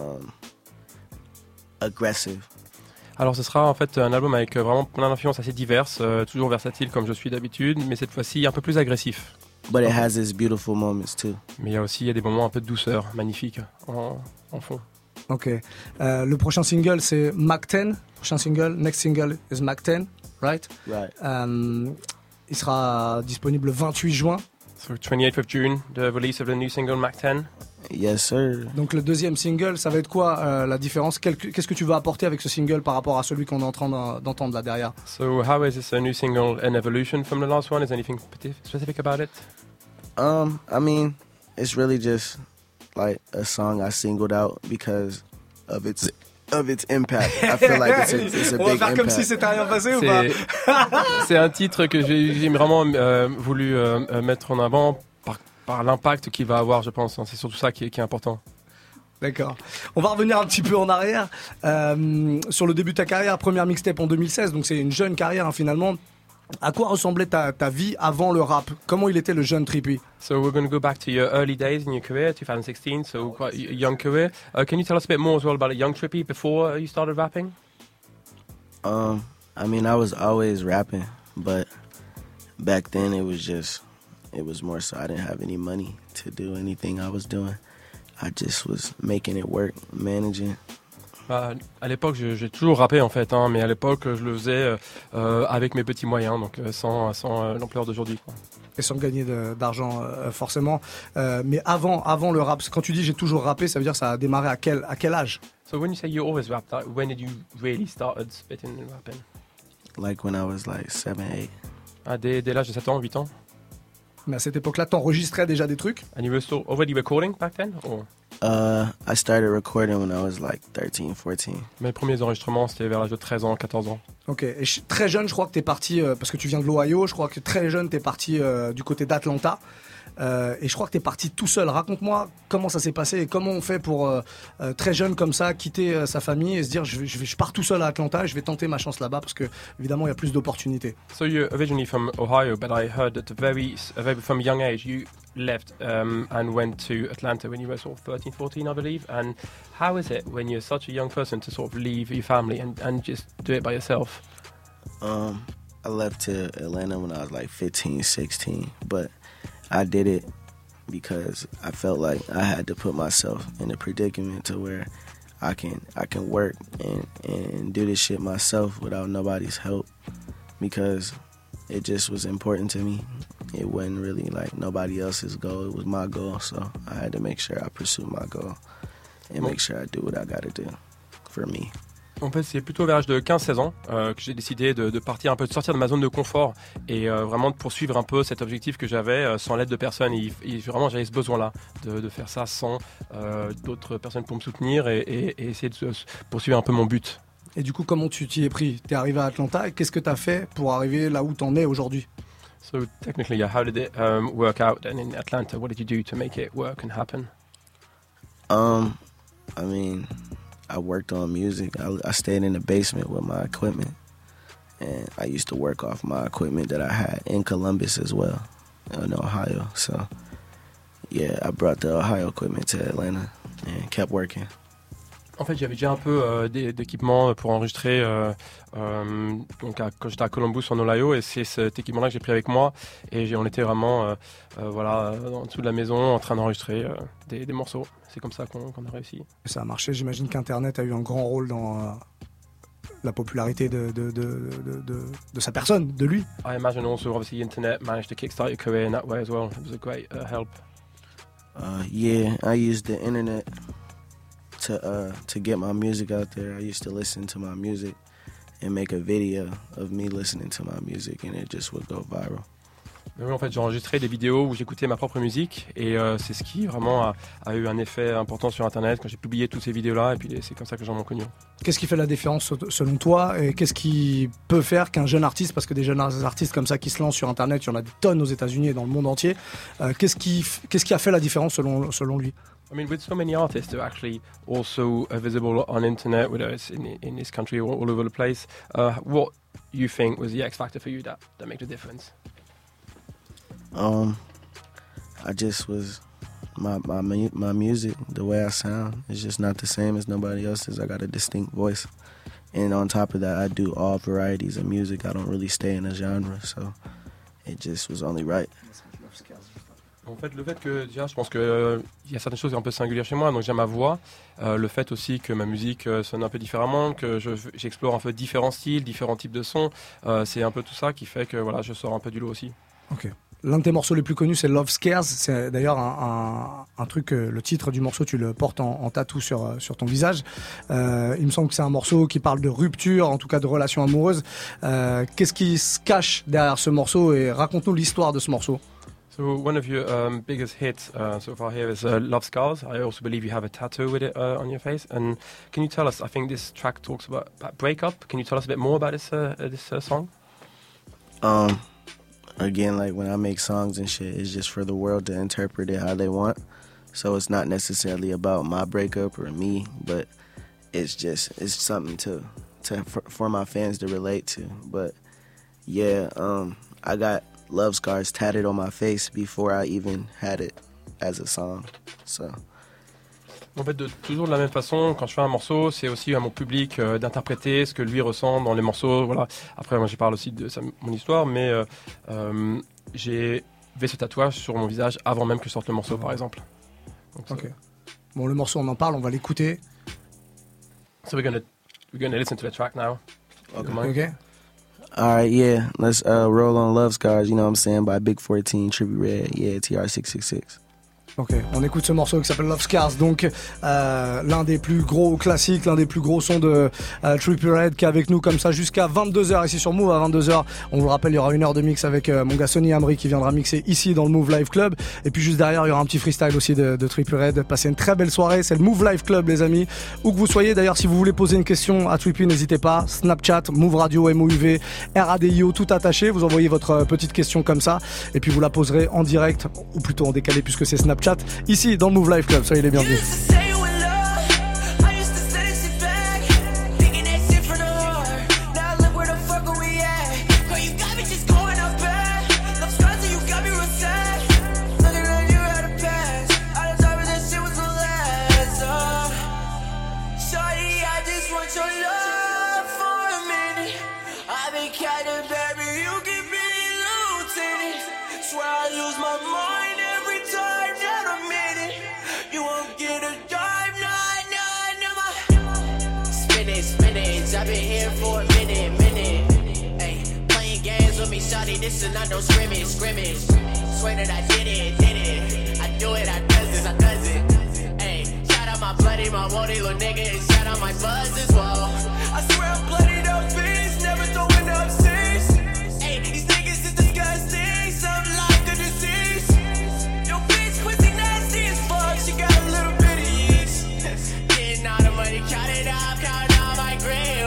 Speaker 5: aggressive.
Speaker 22: Alors ce sera en fait un album avec vraiment plein d'influences assez diverses, toujours versatile comme je suis d'habitude, mais cette fois-ci un peu plus agressif.
Speaker 5: But it has its beautiful moments too.
Speaker 22: Mais il y a des moments un peu de douceur, magnifiques en fond.
Speaker 1: Ok. Le prochain single c'est Mac 10. Prochain single, next single is Mac 10, right?
Speaker 5: Right.
Speaker 1: Il sera disponible le 28 juin.
Speaker 22: So 28th of June, the release of the new single Mac 10.
Speaker 5: Yes, sir.
Speaker 1: Donc le deuxième single, ça va être quoi la différence? Qu'est-ce que tu vas apporter avec ce single par rapport à celui qu'on est en train d'entendre là derrière?
Speaker 22: So how is this a new single, an evolution from the last one? Is there anything specific about it?
Speaker 5: I mean, it's really just like a song I singled out because of its impact. I feel like it's a
Speaker 1: On va
Speaker 5: big
Speaker 1: faire
Speaker 5: impact.
Speaker 1: comme si c'était rien passé ou pas?
Speaker 22: C'est un titre que j'ai vraiment voulu mettre en avant par l'impact qu'il va avoir, je pense. C'est surtout ça qui est important.
Speaker 1: D'accord. On va revenir un petit peu en arrière sur le début de ta carrière, première mixtape en 2016, donc c'est une jeune carrière hein, finalement. À quoi ressemblait ta vie avant le rap? Comment il était le jeune Trippie?
Speaker 22: So we're going to go back to your early days in your career, 2016, so quite a young career. Can you tell us a bit more as well about a young Trippie before you started rapping?
Speaker 5: I mean, I was always rapping, but back then it was more so I didn't have any money to do anything I was doing. I just was making it work, managing.
Speaker 22: À l'époque, j'ai toujours rappé en fait, hein, mais à l'époque, je le faisais avec mes petits moyens, donc sans l'ampleur d'aujourd'hui.
Speaker 1: Et sans gagner d'argent forcément. Mais avant le rap, quand tu dis j'ai toujours rappé, ça veut dire que ça a démarré à quel âge?
Speaker 22: So when you say you always rapped, like, when did you really started spitting and rapping?
Speaker 5: Like when I was like 7, 8.
Speaker 22: Dès l'âge de 7 ans, 8 ans.
Speaker 1: Mais à cette époque-là, t'enregistrais déjà des trucs?
Speaker 22: And you were still already recording back then? Or?
Speaker 5: I started recording when I was like 13, 14.
Speaker 22: Mes premiers enregistrements, c'était vers l'âge de 13 ans, 14 ans.
Speaker 1: Ok, et très jeune, je crois que t'es parti, parce que tu viens de l'Ohio, je crois que très jeune, t'es parti du côté d'Atlanta. Et je crois que t'es parti tout seul. Raconte-moi comment ça s'est passé et comment on fait pour très jeune comme ça quitter sa famille et se dire je pars tout seul à Atlanta et je vais tenter ma chance là-bas parce que évidemment il y a plus d'opportunités.
Speaker 22: So you're originally from Ohio, but I heard that from a young age you left and went to Atlanta when you were sort of 13, 14, I believe. And how is it when you're such a young person to sort of leave your family and just do it by yourself?
Speaker 5: I left to Atlanta when I was like 15, 16, but I did it because I felt like I had to put myself in a predicament to where I can work and do this shit myself without nobody's help because it just was important to me. It wasn't really like nobody else's goal. It was my goal, so I had to make sure I pursue my goal and make sure I do what I gotta do for me.
Speaker 22: En fait, c'est plutôt vers l'âge de 15-16 ans que j'ai décidé de partir un peu, de sortir de ma zone de confort et vraiment de poursuivre un peu cet objectif que j'avais sans l'aide de personne. Et vraiment, j'avais ce besoin-là de faire ça sans d'autres personnes pour me soutenir et essayer de poursuivre un peu mon but.
Speaker 1: Et du coup, comment tu t'y es pris? T'es arrivé à Atlanta et qu'est-ce que t'as fait pour arriver là où t'en es aujourd'hui?
Speaker 22: So technically, yeah, how did it work out? And in Atlanta, what did you do to make it work and happen?
Speaker 5: I mean, I worked on music. I stayed in the basement with my equipment, and I used to work off my equipment that I had in Columbus as well, in Ohio. So, yeah, I brought the Ohio equipment to Atlanta and kept working.
Speaker 22: En fait, j'avais déjà un peu d'équipement pour enregistrer donc quand j'étais à Columbus en Ohio, et c'est cet équipement-là que j'ai pris avec moi. Et on était vraiment en dessous de la maison en train d'enregistrer des morceaux. C'est comme ça qu'on a réussi.
Speaker 1: Ça a marché. J'imagine qu'Internet a eu un grand rôle dans la popularité de sa personne, de lui.
Speaker 22: I imagine also obviously Internet managed to kickstart your career in that way as well. It was a great help.
Speaker 5: Yeah, I used the internet to get my music out there. I used to listen to my music and make a video of me listening to my music, and it just would go viral.
Speaker 22: Mais oui, en fait, j'ai enregistré des vidéos où j'écoutais ma propre musique, et c'est ce qui vraiment a eu un effet important sur Internet quand j'ai publié toutes ces vidéos-là, et puis c'est comme ça que j'en ai connu.
Speaker 1: Qu'est-ce qui fait la différence selon toi, et qu'est-ce qui peut faire qu'un jeune artiste, parce que des jeunes artistes comme ça qui se lancent sur Internet, il y en a des tonnes aux États-Unis et dans le monde entier, qu'est-ce qui a fait la différence selon lui?
Speaker 22: I mean, with so many artists who are actually also visible on internet, whether it's in this country or all over the place, what you think was the X factor for you that made the difference?
Speaker 5: I just was my music, the way I sound is just not the same as nobody else's. I got a distinct voice, and on top of that, I do all varieties of music. I don't really stay in a genre, so it just was only right.
Speaker 22: En fait, le fait que déjà, je pense que y a certaines choses un peu singulières chez moi, donc j'ai ma voix, le fait aussi que ma musique sonne un peu différemment, que j'explore un peu différents styles, différents types de sons, c'est un peu tout ça qui fait que voilà, je sors un peu du lot aussi.
Speaker 1: Ok. L'un de tes morceaux les plus connus, c'est Love Scares. C'est d'ailleurs un truc, le titre du morceau, tu le portes en tatou sur ton visage. Il me semble que c'est un morceau qui parle de rupture, en tout cas de relations amoureuses. Qu'est-ce qui se cache derrière ce morceau, et raconte-nous l'histoire de ce morceau.
Speaker 22: So one of your biggest hits so far here is Love Scars. I also believe you have a tattoo with it on your face. And can you tell us, I think this track talks about breakup. Can you tell us a bit more about this song?
Speaker 5: Again, like when I make songs and shit, it's just for the world to interpret it how they want. So it's not necessarily about my breakup or me, but it's something for my fans to relate to. But yeah, I got Love Scars tatted on my face before I even had it as a song. So.
Speaker 22: En fait, toujours de la même façon, quand je fais un morceau, c'est aussi à mon public d'interpréter ce que lui ressent dans les morceaux. Voilà. Après, moi, je parle aussi de mon histoire, mais j'ai fait ce tatouage sur mon visage avant même que je sorte le morceau, par exemple. Donc,
Speaker 1: ok. Bon, le morceau, on en parle, on va l'écouter.
Speaker 22: So we're gonna listen to the track now.
Speaker 1: Okay.
Speaker 5: All right, yeah. Let's roll on Love Scars, you know what I'm saying, by Big 14, Trippie Redd, yeah, TR666.
Speaker 1: Ok, on écoute ce morceau qui s'appelle Love Scars, donc l'un des plus gros classiques, l'un des plus gros sons de Trippie Redd qui est avec nous comme ça jusqu'à 22h ici sur Move. À 22h, on vous le rappelle, il y aura 1 heure de mix avec mon gars Sonny Amri qui viendra mixer ici dans le Move Live Club. Et puis juste derrière, il y aura un petit freestyle aussi de Trippie Redd. Passez une très belle soirée, c'est le Move Live Club les amis. Où que vous soyez, d'ailleurs si vous voulez poser une question à Trippie, n'hésitez pas. Snapchat, Move Radio, MOUV, RADIO, tout attaché. Vous envoyez votre petite question comme ça et puis vous la poserez en direct, ou plutôt en décalé puisque c'est Snapchat, ici dans le Move Live Club. Soyez les bienvenus.
Speaker 6: I've been here for a minute. Ay, playing games with me, shawty, this is not no scrimmage. Swear that I did it. I do it, I does it. Ay, shout out my bloody, my woody little nigga, and shout out my buzz as well. I swear I'm bloodied up bitch, never throwing up six. Ay, these niggas is disgusting, something like a disease. Yo, bitch, pussy nasty as fuck, she got a little bit of yeast. Getting all the money, count it up, count all my green.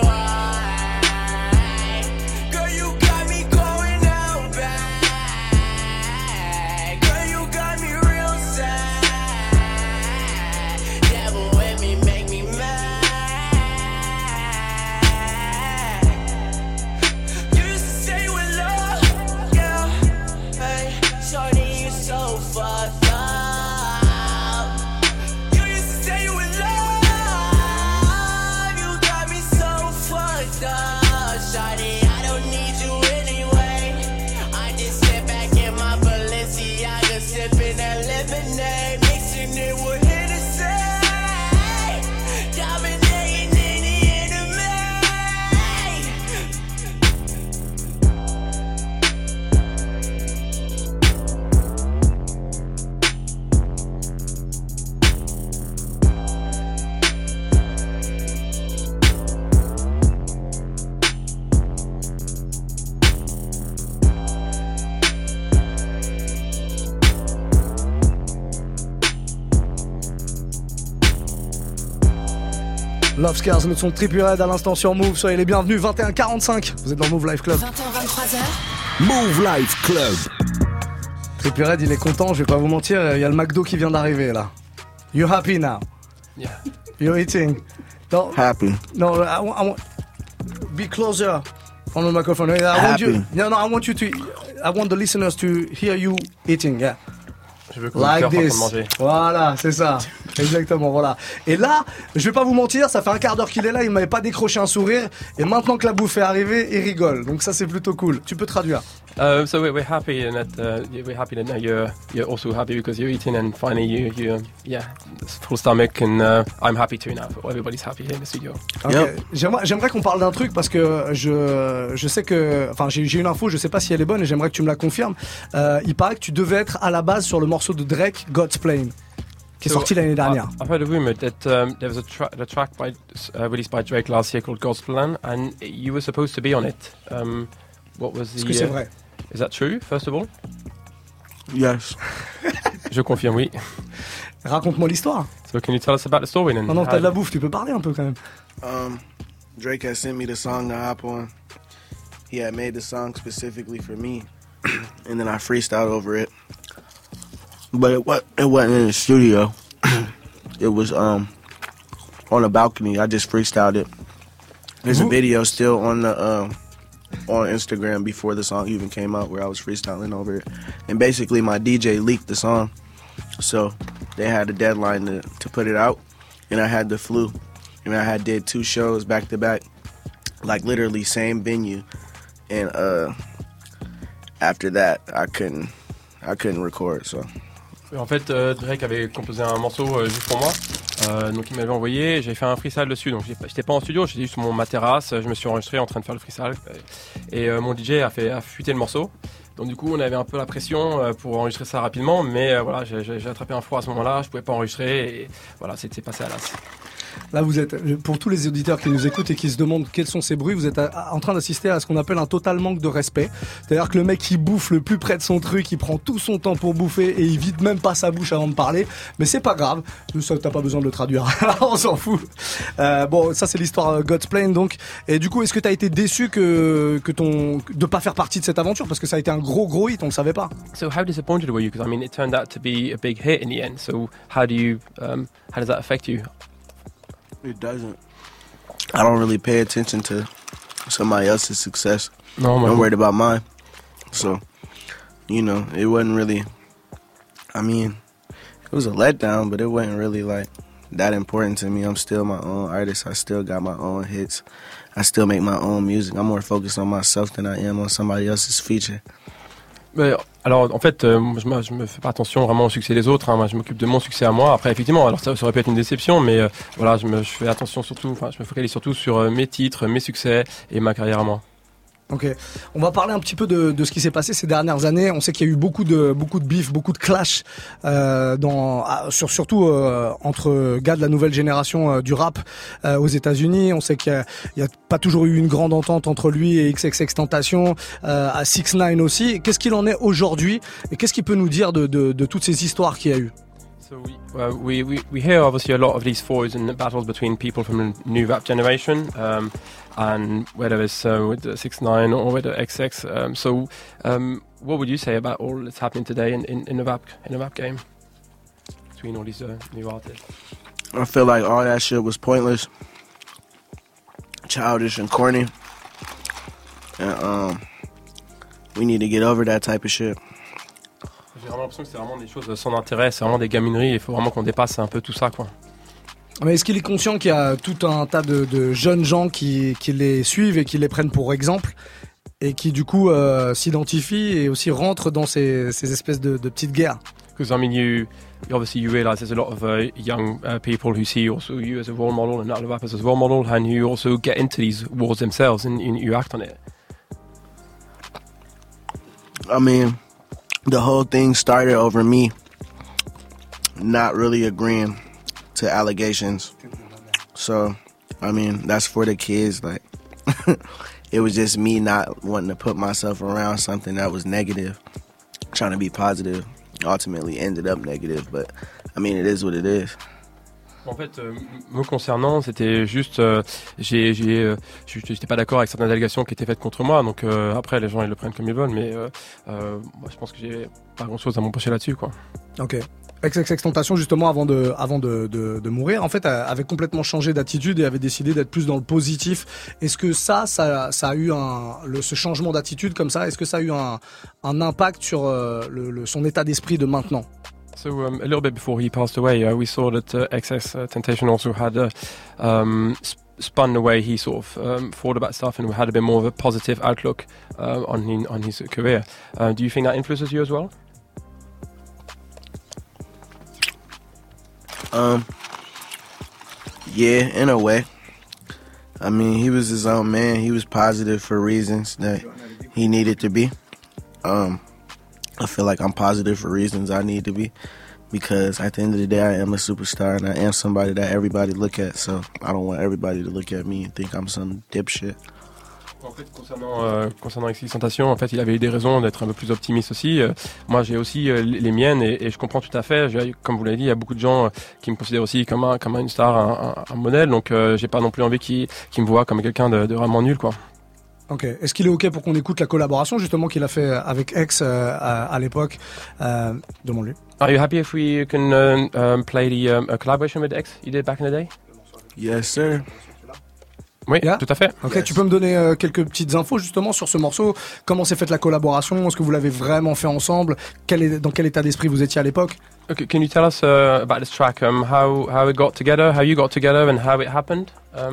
Speaker 1: Love Scars, notre son de Trippie Redd à l'instant sur Move. Soyez les bienvenus, 21h45. Vous êtes dans Move Live Club.
Speaker 3: 20h23h.
Speaker 2: Move Live Club.
Speaker 1: Trippie Redd, il est content, je vais pas vous mentir. Il y a le McDo qui vient d'arriver là. You happy now?
Speaker 22: Yeah.
Speaker 1: You're eating? No,
Speaker 5: happy.
Speaker 1: No, I want be closer on the microphone. I want you to. I want the listeners to hear you eating. Yeah.
Speaker 22: Je veux
Speaker 1: like this. Voilà, c'est ça. Exactement, voilà. Et là, je vais pas vous mentir, ça fait un quart d'heure qu'il est là, il m'avait pas décroché un sourire. Et maintenant que la bouffe est arrivée, il rigole. Donc ça, c'est plutôt cool. Tu peux traduire.
Speaker 22: So we're happy that now you're also happy because you're eating and finally you full stomach and I'm happy too now. Everybody's happy here in the studio.
Speaker 1: Okay. Yep. J'aimerais qu'on parle d'un truc parce que je sais que, enfin j'ai une info, je sais pas si elle est bonne et j'aimerais que tu me la confirmes. Il paraît que tu devais être à la base sur le morceau de Drake, God's Plan, qui est sorti l'année dernière.
Speaker 22: I've heard a rumor that there was a track released by Drake last year called God's Plan, and you were supposed to be on it. What was the?
Speaker 1: Est-ce que c'est vrai?
Speaker 22: Is that true? First of all,
Speaker 5: Yes.
Speaker 22: Je confirme, oui.
Speaker 1: Raconte-moi l'histoire.
Speaker 22: So can you tell us about the story then?
Speaker 1: Non, t'as de la bouffe, tu peux parler un peu quand même.
Speaker 5: Drake had sent me the song to hop on. He had made the song specifically for me, and then I freestyled over it. But it wasn't in the studio. It was on a balcony. I just freestyled it. There's a video still on the on Instagram before the song even came out where I was freestyling over it. And basically my DJ leaked the song, so they had a deadline to put it out, and I had the flu, and I did 2 shows back to back, like literally same venue, and after that I couldn't record. So.
Speaker 22: En fait, Drake avait composé un morceau juste pour moi, donc il m'avait envoyé, j'avais fait un freestyle dessus, donc j'étais pas en studio, j'étais juste sur ma terrasse, je me suis enregistré en train de faire le freestyle, et mon DJ a fuité le morceau, donc du coup on avait un peu la pression pour enregistrer ça rapidement, mais voilà, j'ai attrapé un froid à ce moment-là, je pouvais pas enregistrer, et voilà, c'est passé à l'as.
Speaker 1: Là, vous êtes, pour tous les auditeurs qui nous écoutent et qui se demandent quels sont ces bruits, vous êtes en train d'assister à ce qu'on appelle un total manque de respect. C'est-à-dire que le mec, il bouffe le plus près de son truc, il prend tout son temps pour bouffer et il vide même pas sa bouche avant de parler. Mais c'est pas grave, ça, t'as pas besoin de le traduire. On s'en fout. Bon, ça c'est l'histoire God's Plan donc. Et du coup, est-ce que t'as été déçu de pas faire partie de cette aventure, parce que ça a été un gros hit, on le savait pas.
Speaker 22: So how disappointed were you? Because I mean, it turned out to be a big hit in the end. So how does that affect you?
Speaker 5: It doesn't. I don't really pay attention to somebody else's success.
Speaker 22: No,
Speaker 5: I'm worried about mine. So, it wasn't really, I mean, it was a letdown, but it wasn't really like that important to me. I'm still my own artist. I still got my own hits. I still make my own music. I'm more focused on myself than I am on somebody else's feature.
Speaker 22: Alors en fait, je me fais pas attention vraiment au succès des autres, hein. Moi je m'occupe de mon succès à moi. Après effectivement, alors ça aurait pu être une déception, mais voilà, je fais attention surtout, je me focalise surtout sur mes titres, mes succès et ma carrière à moi.
Speaker 1: Ok, on va parler un petit peu de ce qui s'est passé ces dernières années. On sait qu'il y a eu beaucoup de beef, beaucoup de clash, surtout entre gars de la nouvelle génération du rap aux États-Unis. On sait qu'il y a pas toujours eu une grande entente entre lui et XXXTentacion, à 6ix9ine aussi. Qu'est-ce qu'il en est aujourd'hui et qu'est-ce qu'il peut nous dire de toutes ces histoires qu'il y a eu?
Speaker 22: So we hear obviously a lot of these feuds and battles between people from the new rap generation, and whether it's with the 6ix9ine or with the XX. What would you say about all that's happening today in the rap game between all these new artists?
Speaker 5: I feel like all that shit was pointless, childish, and corny, and we need to get over that type of shit.
Speaker 22: J'ai vraiment l'impression que c'est vraiment des choses sans intérêt, c'est vraiment des gamineries, il faut vraiment qu'on dépasse un peu tout ça, quoi.
Speaker 1: Mais est-ce qu'il est conscient qu'il y a tout un tas de jeunes gens qui les suivent et qui les prennent pour exemple et qui du coup s'identifient et aussi rentrent dans ces espèces de petites guerres?
Speaker 22: Because I mean, you realise there's a lot of young people who see also you as a role model and other rappers as a role model, and you also get into these wars themselves and you act on it.
Speaker 5: I mean, the whole thing started over me not really agreeing to allegations. So, I mean, that's for the kids. Like, it was just me not wanting to put myself around something that was negative, trying to be positive. Ultimately ended up negative, but I mean, it is what it is.
Speaker 22: En fait, me concernant, c'était juste, j'étais pas d'accord avec certaines allégations qui étaient faites contre moi. Donc après, les gens ils le prennent comme ils veulent, mais moi, je pense que j'ai pas grand-chose à m'empêcher là-dessus, quoi.
Speaker 1: Ok. XXXTentacion, justement, avant de mourir, en fait, avait complètement changé d'attitude et avait décidé d'être plus dans le positif. Est-ce que ça a eu ce changement d'attitude comme ça, est-ce que ça a eu un impact sur son état d'esprit de maintenant?
Speaker 22: So a little bit before he passed away, we saw that XXXTentacion also had spun the way he sort of thought about stuff and had a bit more of a positive outlook on his career. Do you think that influences you as well?
Speaker 5: Yeah, in a way. I mean, he was his own man. He was positive for reasons that he needed to be. I feel like I'm positive for reasons I need to be, because at the end of the day, I am a superstar and I am somebody that everybody look at. So I don't want everybody to look at me and think I'm some dipshit.
Speaker 22: En fait, concernant XXXTentacion, en fait, il avait eu des raisons d'être un peu plus optimiste aussi. Moi, j'ai aussi les miennes et je comprends tout à fait. Comme vous l'avez dit, il y a beaucoup de gens qui me considèrent aussi comme une star, un modèle. Donc, j'ai pas non plus envie qu'ils me voient comme quelqu'un de vraiment nul, quoi.
Speaker 1: Ok. Est-ce qu'il est ok pour qu'on écoute la collaboration justement qu'il a fait avec X à l'époque? Demande-lui.
Speaker 22: Are you happy if we can play the collaboration with X you did back in the day?
Speaker 5: Yes, sir.
Speaker 22: Oui, tout à fait.
Speaker 1: Ok, tu peux me donner quelques petites infos justement sur ce morceau? Comment s'est faite la collaboration? Est-ce que vous l'avez vraiment fait ensemble? Dans quel état d'esprit vous étiez à l'époque?
Speaker 22: Okay, can you tell us about this track? How it got together, how you got together, and how it happened?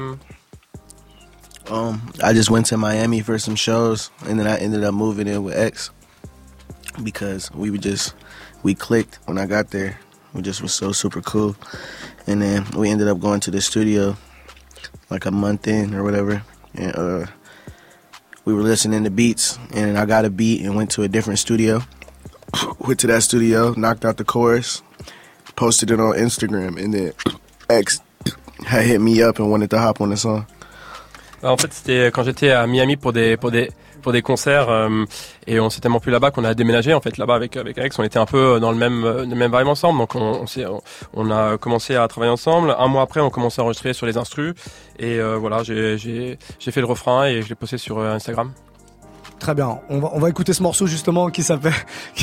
Speaker 5: I just went to Miami for some shows, and then I ended up moving in with X because we clicked when I got there. We just was so super cool, and then we ended up going to the studio like a month in or whatever, and we were listening to beats, and I got a beat and went to a different studio. Went to that studio, knocked out the chorus, posted it on Instagram, and then X had hit me up and wanted to hop on the song.
Speaker 22: En fait, c'était quand j'étais à Miami pour des des concerts et on s'est tellement plus là-bas qu'on a déménagé en fait là-bas avec Alex. On était un peu dans le même vibe ensemble, donc on a commencé à travailler ensemble. Un mois après, on commençait à enregistrer sur les instrus et voilà, j'ai fait le refrain et je l'ai posté sur Instagram.
Speaker 1: Très bien, on va écouter ce morceau justement qui s'appelle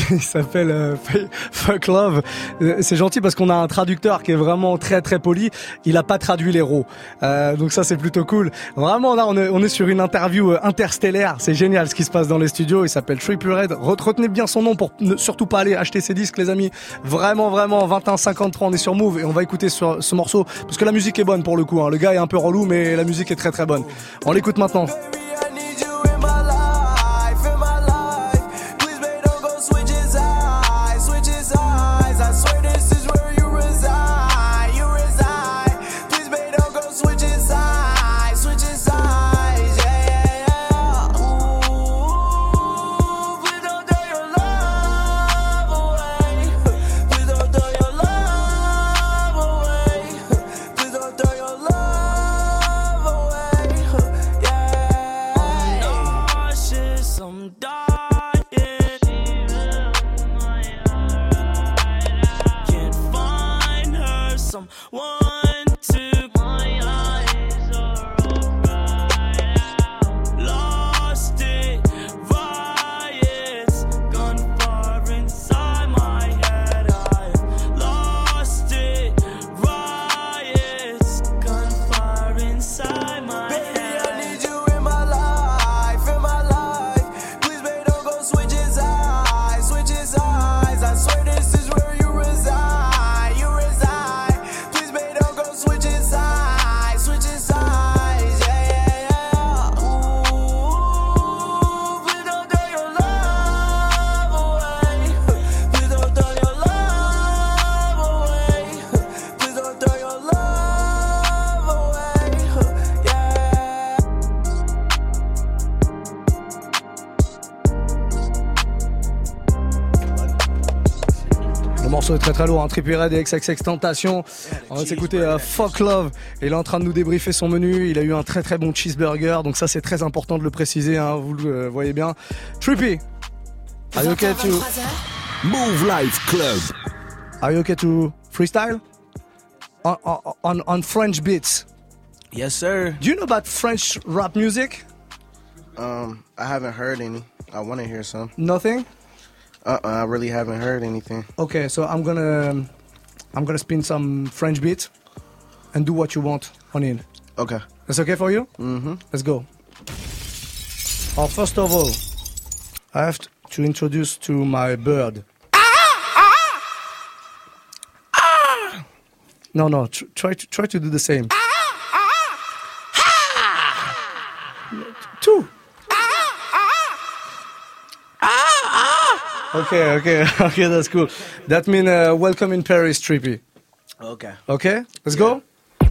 Speaker 1: Fuck Love. C'est gentil parce qu'on a un traducteur qui est vraiment très très poli. Il a pas traduit les rots, donc ça c'est plutôt cool. Vraiment là on est sur une interview interstellaire. C'est génial ce qui se passe dans les studios. Il s'appelle Trippie Redd. Retenez bien son nom pour ne surtout pas aller acheter ses disques les amis. Vraiment 21-53 on est sur Move et on va écouter ce morceau parce que la musique est bonne pour le coup. Le gars est un peu relou mais la musique est très très bonne. On l'écoute maintenant. Est très très lourd, Trippie Redd et XXXTentacion. On va s'écouter Fuck Love. Et il est en train de nous débriefer son menu. Il a eu un très très bon cheeseburger, donc ça c'est très important de le préciser, vous le voyez bien. Trippie, are you okay to
Speaker 2: Move Life Club?
Speaker 1: Are you okay to freestyle on French beats?
Speaker 5: Yes, sir.
Speaker 1: Do you know about French rap music?
Speaker 5: I haven't heard any. I want to hear some.
Speaker 1: Nothing?
Speaker 5: I really haven't heard anything. Okay,
Speaker 1: so I'm gonna spin some French beats and do what you want on it.
Speaker 5: Okay.
Speaker 1: That's okay for you?
Speaker 5: Mm-hmm.
Speaker 1: Let's go. First of all, I have to introduce to my bird. No, try to do the same. Two. Okay, that's cool. That means welcome in Paris, Trippie. Okay, let's go.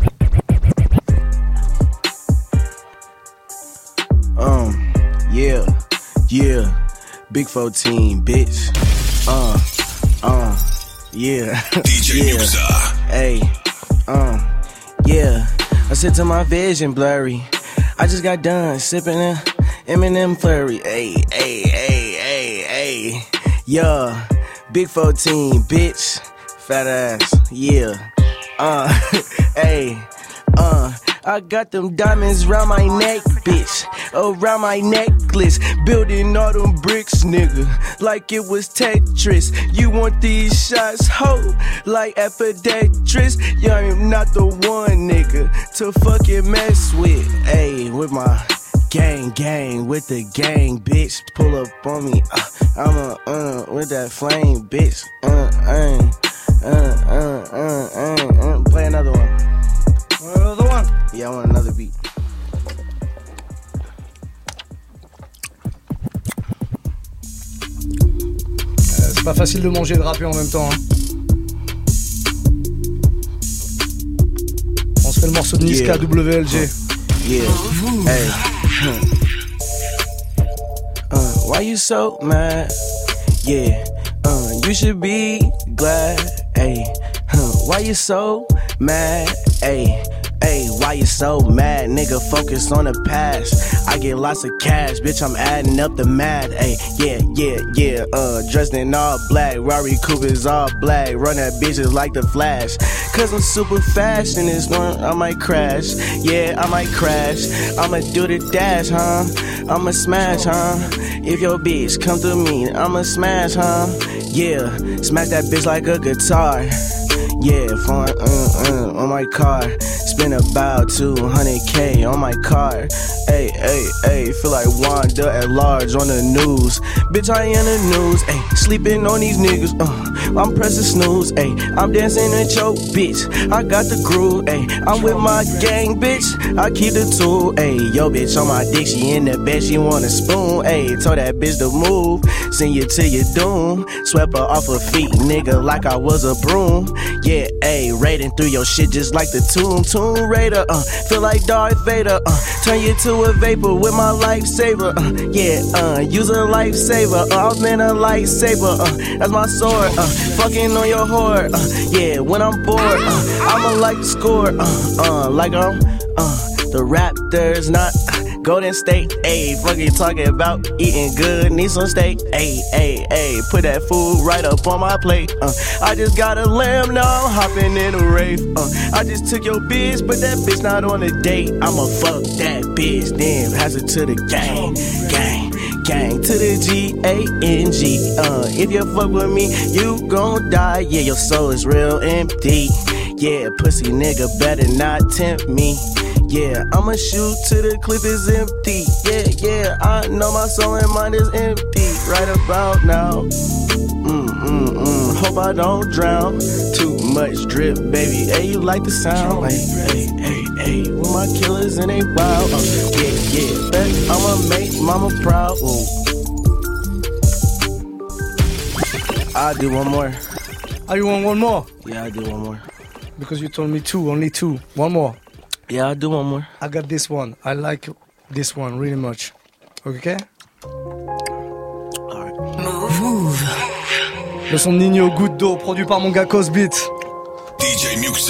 Speaker 5: Yeah, Big 14, bitch. Yeah.
Speaker 2: DJ Muxa.
Speaker 5: Hey, yeah. I said to my vision blurry. I just got done sipping Eminem flurry, ayy, yeah, big 14, bitch, fat ass, yeah, ayy, I got them diamonds round my neck, bitch, around my necklace, building all them bricks, nigga, like it was Tetris. You want these shots, ho, like Epidetris? Yeah, I'm not the one, nigga, to fucking mess with, ayy, with my gang, with the gang, bitch, pull up on me, I'm with that flame, bitch, play another one.
Speaker 1: Another one?
Speaker 5: Yeah, I want another beat.
Speaker 1: C'est pas facile de manger et de rapper en même temps. Hein. On se fait le morceau de Niska, yeah. WLG.
Speaker 5: Yeah. Hey. Why you so mad? Yeah. You should be glad. Hey. Why you so mad? Hey. Hey, why you so mad? Nigga, focus on the past. I get lots of cash, bitch, I'm adding up the math. Hey, yeah. Dressed in all black, Rari Cooper's all black. Run that bitches like the Flash. Cause I'm super fast in this one, I might crash. Yeah, I might crash. I'ma do the dash, huh? I'ma smash, huh? If your bitch come to me, I'ma smash, huh? Yeah, smack that bitch like a guitar. Yeah, phone on my car. Spend about 200K on my car. Ay, feel like Wanda at large on the news. Bitch, I in the news. Ay, sleeping on these niggas. I'm pressing snooze. Ay, I'm dancing with your bitch. I got the groove. Ay, I'm with my gang, bitch. I keep the tool. Ay, yo, bitch on my dick. She in the bed. She want a spoon. Ay, told that bitch to move. Send you to your doom. Swept her off her feet, nigga, like I was a broom. Yeah, ayy, raiding through your shit just like the Tomb Raider. Feel like Darth Vader. Turn you to a vapor with my lifesaver. Use a lifesaver. I've been a lightsaber. That's my sword. Fucking on your whore. Yeah, when I'm bored, I'ma like to score. Like the Raptors, not Golden State, ayy, fuck you talking about eating good, need some steak, ayy, put that food right up on my plate, I just got a lamb, now I'm hopping in a rave, I just took your bitch, but that bitch not on a date, I'ma fuck that bitch, then pass it to the gang, to the G-A-N-G, if you fuck with me, you gon' die, yeah, your soul is real empty, yeah, pussy nigga better not tempt me. Yeah, I'ma shoot till the clip is empty. Yeah, I know my soul and mind is empty right about now. Hope I don't drown. Too much drip, baby. Hey, you like the sound? Hey, with my killers and they wild. Yeah, bet I'ma make mama proud. Ooh. I'll do one more.
Speaker 1: Oh, you want one more?
Speaker 5: Yeah, I'll do one more.
Speaker 1: Because you told me two, only two. One more.
Speaker 5: Yeah, I'll do one more.
Speaker 1: I got this one. I like this one really much. Okay?
Speaker 5: Alright.
Speaker 3: Move.
Speaker 1: Le son de Nino, Goutte d'eau, produit par mon gars Cosbeat.
Speaker 2: DJ Muxa.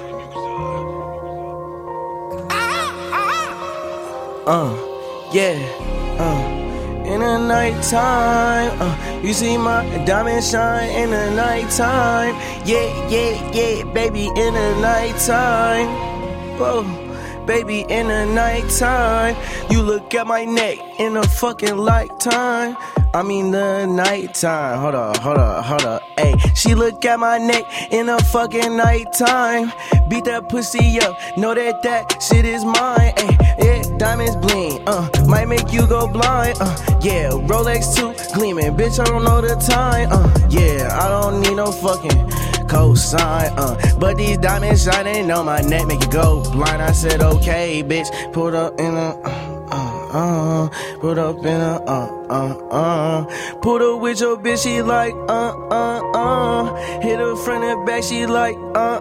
Speaker 5: In the nighttime, you see my diamond shine in the nighttime. Yeah, baby, in the nighttime. Whoa, baby, in the nighttime. You look at my neck in a fucking lifetime. I mean the nighttime. Hold up. Ayy, she look at my neck in a fucking nighttime. Beat that pussy up, know that shit is mine. Ayy, yeah, diamonds bling. Might make you go blind. Yeah, Rolex 2 gleaming. Bitch, I don't know the time. Yeah, I don't need no fucking cosign, but these diamonds shining on my neck make you go blind. I said okay, bitch, put up in a put up in a put up with your bitch, she like hit her front and back, she like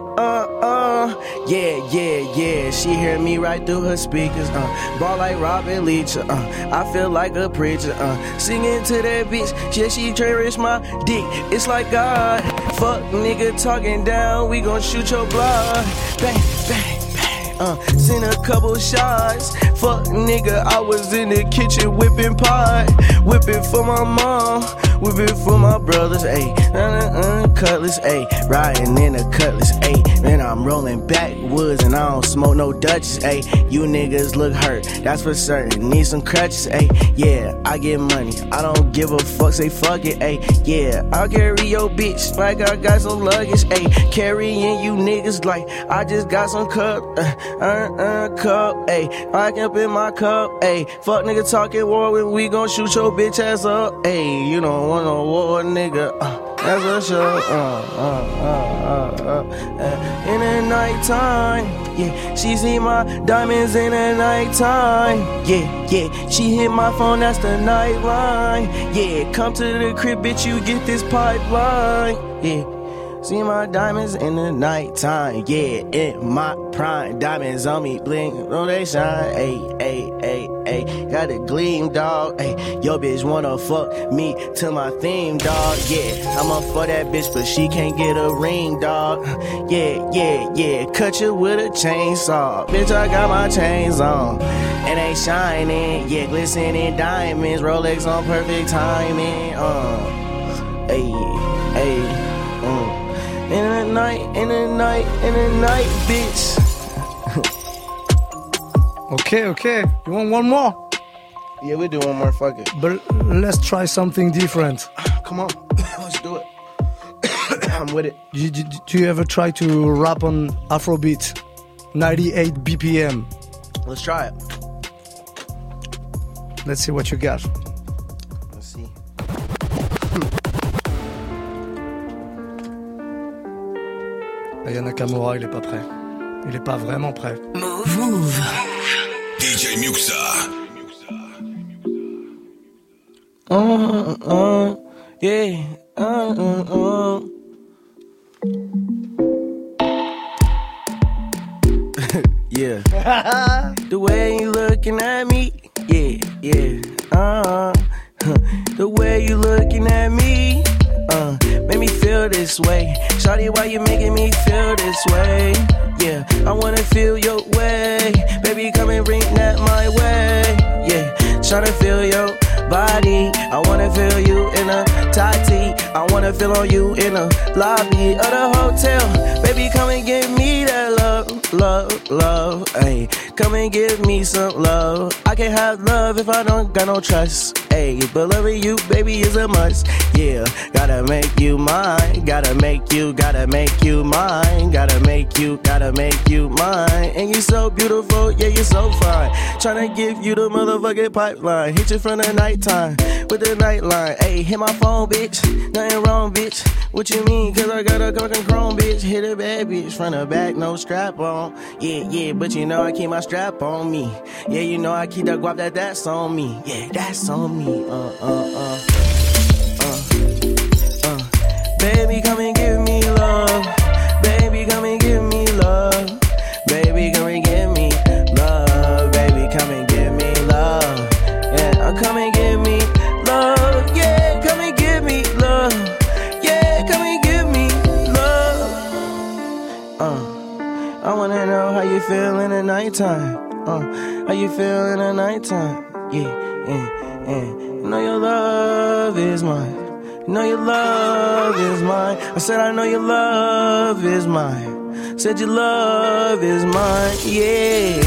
Speaker 5: yeah, she hear me right through her speakers, ball like Robin Leach, I feel like a preacher, singing to that bitch, yeah, she cherish my dick, it's like God, fuck nigga talking down, we gon' shoot your blood, bang, bang, bang, Seen a couple shots. Fuck nigga, I was in the kitchen whipping pie. Whipping for my mom, whipping for my brothers, ayy. Cutlass, ayy. Riding in a cutlass, ayy. Man, I'm rolling backwoods and I don't smoke no Dutchess, ayy. You niggas look hurt, that's for certain. Need some crutches, ayy. Yeah, I get money, I don't give a fuck, say fuck it, ayy. Yeah, I'll carry your bitch like I got some luggage, ayy. Carrying you niggas like I just got some cup, cup, ayy. I can up in my cup, ayy. Fuck nigga talking war when we gon' shoot your bitch ass up, ayy. You don't want no war, nigga. That's for sure. In the nighttime, yeah. She see my diamonds in the nighttime, yeah, yeah. She hit my phone, that's the nightline, yeah. Come to the crib, bitch, you get this pipeline, yeah. See my diamonds in the nighttime, yeah, in my prime. Diamonds on me, bling, oh they shine, ayy, ayy, ayy, ayy. Got a gleam, dog, ayy. Yo bitch wanna fuck me to my theme, dog, yeah. I'ma fuck that bitch, but she can't get a ring, dog. Yeah, yeah, yeah. Cut you with a chainsaw, bitch. I got my chains on, and they shining, yeah, glistening diamonds. Rolex on perfect timing, ayy, ayy. In the night, in the night, in the night, bitch.
Speaker 1: Okay. You want one more?
Speaker 5: Yeah, we'll do one more, fuck it.
Speaker 1: But let's try something different.
Speaker 5: Come on, let's do it. I'm with it.
Speaker 1: Do you ever try to rap on Afrobeat? 98 BPM.
Speaker 5: Let's try it.
Speaker 1: Let's see what you got.
Speaker 5: Let's see.
Speaker 1: Aya Nakamura, il est pas prêt. Il est pas vraiment prêt.
Speaker 2: Move. DJ Muxa.
Speaker 5: Yeah. Yeah. The way you looking at me, yeah. The way you looking at me, make me feel this way. Shawty, why you making me feel this way? Yeah, I wanna feel your way. Baby, come and bring that my way. Yeah, tryna feel your body. I wanna feel you in a tight tee. I wanna feel on you in a lobby of the hotel. Baby, come and give me that love, ayy. Come and give me some love. I can't have love if I don't got no trust, ayy. But loving you, baby, is a must. Yeah, gotta make you mine. Gotta make you mine. Gotta make you mine. And you so beautiful, yeah, you're so fine. Tryna give you the motherfucking pipeline. Hit you from the nighttime with the nightline. Ayy, hit my phone, bitch. Nothing wrong, bitch. What you mean? Cause I got a fucking chrome, bitch. Hit a bad bitch from the back, no strap on. Yeah, but you know I keep my strap on me. Yeah, you know I keep that guap that's on me. Yeah, that's on me. Baby, come and give me love. Baby, come and give me love. Baby, come and give me love. Baby, come and give me love. Yeah, come and give me love. Yeah, come and give me love. Yeah, come and give me love. I wanna know how you feel in the nighttime. How you feel in the nighttime? Yeah. You know your love is mine. You know your love is mine. I said I know your love is mine. Said your love is mine, yeah.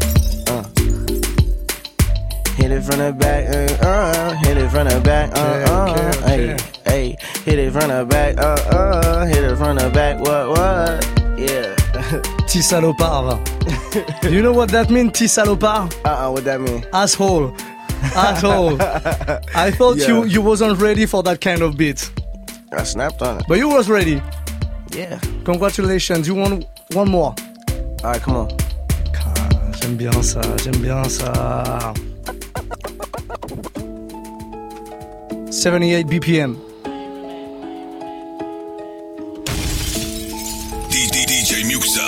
Speaker 5: Hit it from the back, hit it from the back, hey, hit it from the back, hit it from the back, what, yeah.
Speaker 1: Petit salopard. You know what that means, petit salopard?
Speaker 5: What that mean?
Speaker 1: Asshole. Asshole. I thought you wasn't ready for that kind of beat.
Speaker 5: I snapped on it.
Speaker 1: But you was ready.
Speaker 5: Yeah.
Speaker 1: Congratulations. You want one more?
Speaker 5: Alright, come on.
Speaker 1: J'aime bien ça. 78 BPM.
Speaker 2: DJ Muxa.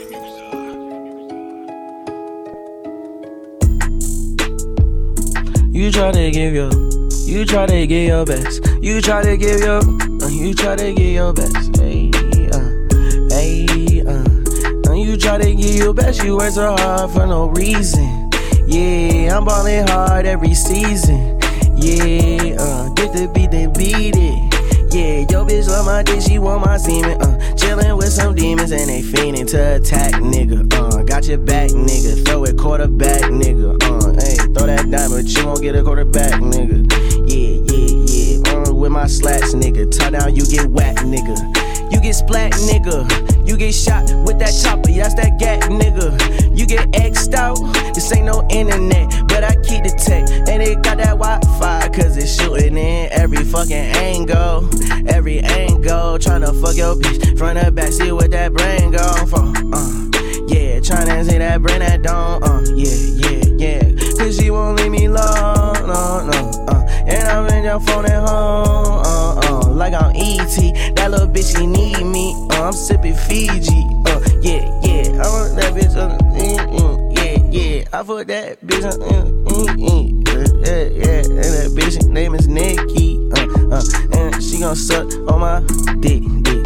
Speaker 5: You try to give your best. You try to give your best. Hey, you try to get your best, you work so hard for no reason. Yeah, I'm ballin' hard every season. Yeah, get the beat, then beat it. Yeah, yo bitch love my dick, she want my semen. Chillin' with some demons and they fiendin' to attack, nigga. Got your back, nigga. Throw it quarterback, nigga. Hey, throw that diamond, but you won't get a quarterback, nigga. Yeah. With my slats, nigga. Tie down, you get whack, nigga. You get splat, nigga. You get shot with that chopper, yeah, that's that gat, nigga. You get X'd out, this ain't no internet, but I keep the tech. And it got that Wi-Fi, cause it's shooting in every fucking angle. Every angle, tryna fuck your bitch. Front or back, see what that brain go for. Yeah, tryna see that brain that don't. Yeah. Cause she won't leave me alone, no. And I'm in your phone at home, like I'm E.T. That little bitch, she need me. I'm sipping Fiji. Yeah. I want that bitch yeah. I fuck that bitch yeah. And that bitch name is Nikki. And she gon' suck on my dick,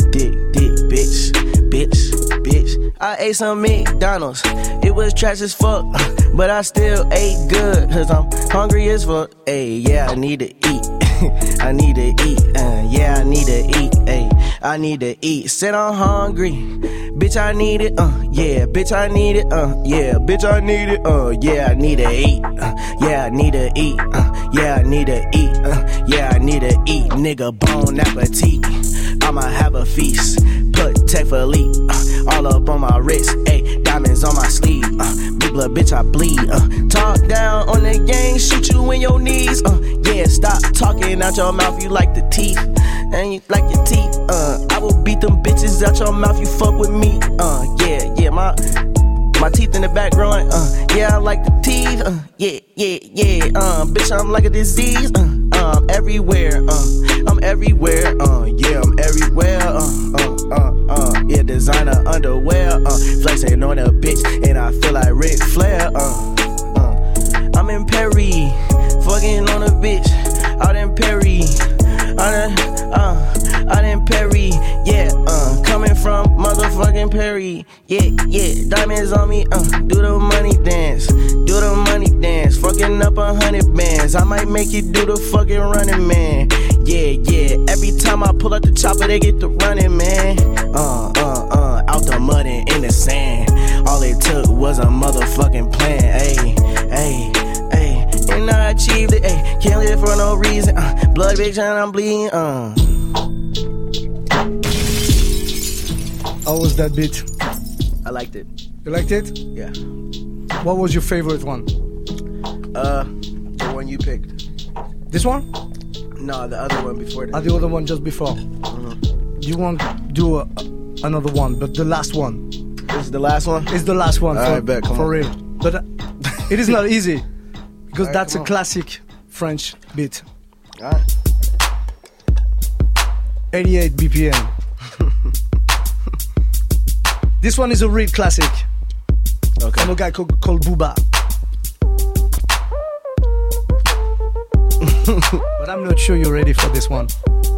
Speaker 5: bitch. I ate some McDonald's. It was trash as fuck, but I still ate good, cause I'm hungry as fuck. Ayy, yeah, I need to eat. I need to eat, yeah, I need to eat, ayy. I need to eat, said I'm hungry. Bitch, I need it, yeah, bitch, I need it, yeah, bitch, I need it, yeah, I need to eat, yeah, I need to eat, yeah, I need to eat, yeah, I need to eat, nigga, bon appetit. I'ma have a feast, put Tech Philippe, all up on my wrist, ayy, diamonds on my sleeve, big blood, bitch, I bleed, talk down on the gang, shoot you in your knees, yeah, stop talking out your mouth, you like the teeth, and you like your teeth, I will beat them bitches out your mouth, you fuck with me, yeah, my teeth in the back growing, yeah, I like the teeth, yeah, bitch, I'm like a disease, I'm everywhere, I'm everywhere, yeah, I'm everywhere, yeah, designer underwear, flexing on a bitch, and I feel like Ric Flair, I'm in Perry, fucking on a bitch, out in Perry, out in Perry, yeah, coming from motherfucking Perry, yeah, diamonds on me, do the money dance, fucking up 100 bands, I might make you do the fucking running man, yeah, every time I pull out the chopper, they get the running man, out the mud and in the sand, all it took was a motherfucking plan, ayy, and I achieved it, ayy, can't live for no reason, blood bitch and I'm bleeding,
Speaker 1: How was that beat?
Speaker 5: I liked it.
Speaker 1: You liked it?
Speaker 5: Yeah.
Speaker 1: What was your favorite one?
Speaker 5: The one you picked.
Speaker 1: This one?
Speaker 5: No, the other one before that.
Speaker 1: The other one just before. You want to do another one, but the last one.
Speaker 5: This is the last one?
Speaker 1: It's the last one.
Speaker 5: Alright, bet, come
Speaker 1: for
Speaker 5: on.
Speaker 1: real. But it is not easy. Because
Speaker 5: Alright,
Speaker 1: that's a
Speaker 5: come on.
Speaker 1: classic French beat.
Speaker 5: Alright.
Speaker 1: 88 BPM. This one is a real classic.
Speaker 5: Okay.
Speaker 1: From a guy called Booba. But I'm not sure you're ready for this one.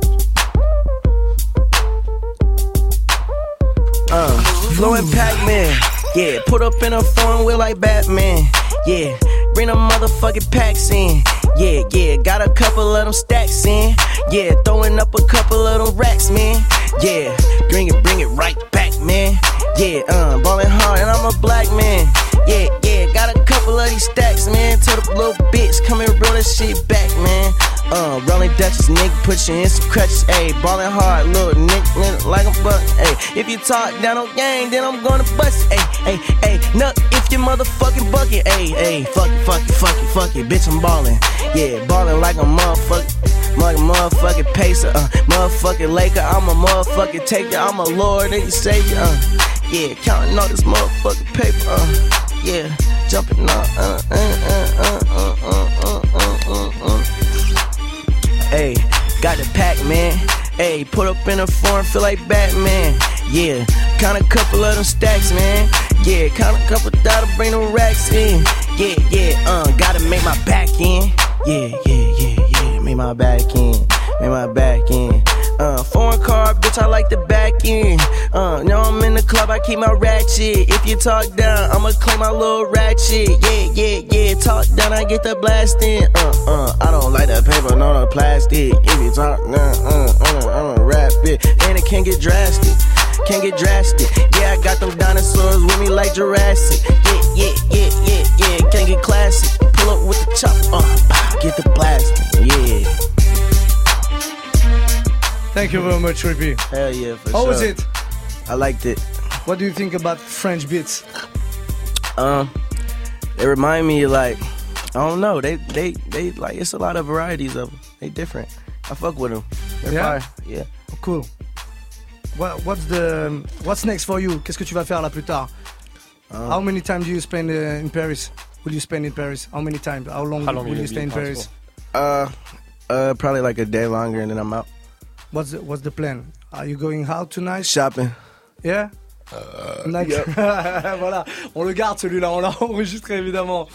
Speaker 5: Flowing Pac-Man. Yeah, put up in a foreign wheel like Batman. Yeah, bring them motherfucking packs in. Yeah, got a couple of them stacks in. Yeah, throwing up a couple of them racks, man. Yeah, bring it right back, man. Yeah, ballin' hard and I'm a black man. Yeah, got a couple of these stacks, man. Tell the little bitch, come and roll that shit back, man. Rolling Dutchess, nigga, put you in some crutches, ayy. Ballin' hard, little nigga, like a buck, ayy. If you talk down on gang, then I'm gonna bust it, ayy. Nut if you motherfucking bucket, ayy. Fuck it, bitch, I'm ballin'. Yeah, ballin' like a motherfucking pacer, motherfucking Laker. I'm a motherfucking taker, I'm a Lord and savior, yeah, counting all this motherfucking paper, yeah, jumping on, Ayy, got the Pac-Man. Ayy, put up in a foreign, feel like Batman. Yeah, count a couple of them stacks, man. Yeah, count a couple that'll bring them racks in. Yeah, gotta make my back in. Yeah, make my back in. Foreign car, bitch, I like the back end. Now I'm in the club, I keep my ratchet. If you talk down, I'ma claim my little ratchet. Yeah. Talk down, I get the blasting. I don't like the paper, no the plastic. If you talk down, I'ma rap it. And it can't get drastic. Yeah, I got them dinosaurs with me like Jurassic. Yeah. Can't get classic. Pull up with the chop, get the blasting. Yeah.
Speaker 1: Thank you very much, Rippy.
Speaker 5: Hell yeah, for
Speaker 1: How
Speaker 5: sure.
Speaker 1: was it?
Speaker 5: I liked it.
Speaker 1: What do you think about French beats?
Speaker 5: They remind me like, I don't know. They like, it's a lot of varieties of them. They different. I fuck with them. They're fire. Yeah.
Speaker 1: Cool. What's next for you? Qu'est-ce que tu vas faire là plus tard? How many times do you spend in Paris? Will you spend in Paris? How many times? How long will you stay in Paris?
Speaker 5: Probably like a day longer and then I'm out.
Speaker 1: What's the plan? Are you going out tonight?
Speaker 5: Shopping.
Speaker 1: Yeah? Nice.
Speaker 5: Yep.
Speaker 1: Voilà, on le garde celui-là, on l'a enregistré évidemment.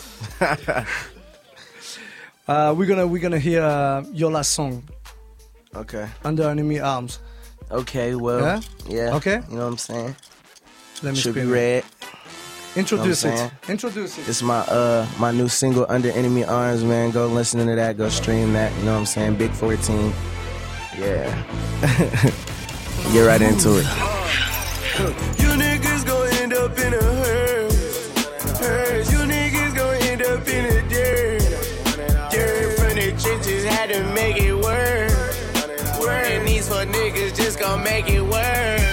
Speaker 1: We're gonna hear your last song.
Speaker 5: Okay.
Speaker 1: Under Enemy Arms.
Speaker 5: Okay, well, yeah.
Speaker 1: Okay.
Speaker 5: You know what I'm saying?
Speaker 1: Let me
Speaker 5: Should be
Speaker 1: spin it.
Speaker 5: red.
Speaker 1: Introduce
Speaker 5: You know what I'm
Speaker 1: it. Introduce it.
Speaker 5: This is my new single, Under Enemy Arms, man. Go listen to that. Go stream that. You know what I'm saying? Big 14. Yeah. Get right into it.
Speaker 9: You niggas gon' end up in a hearse. You niggas gon' end up in a dirt from the trenches, had to make it work. And these fuck niggas just gon' make it worse.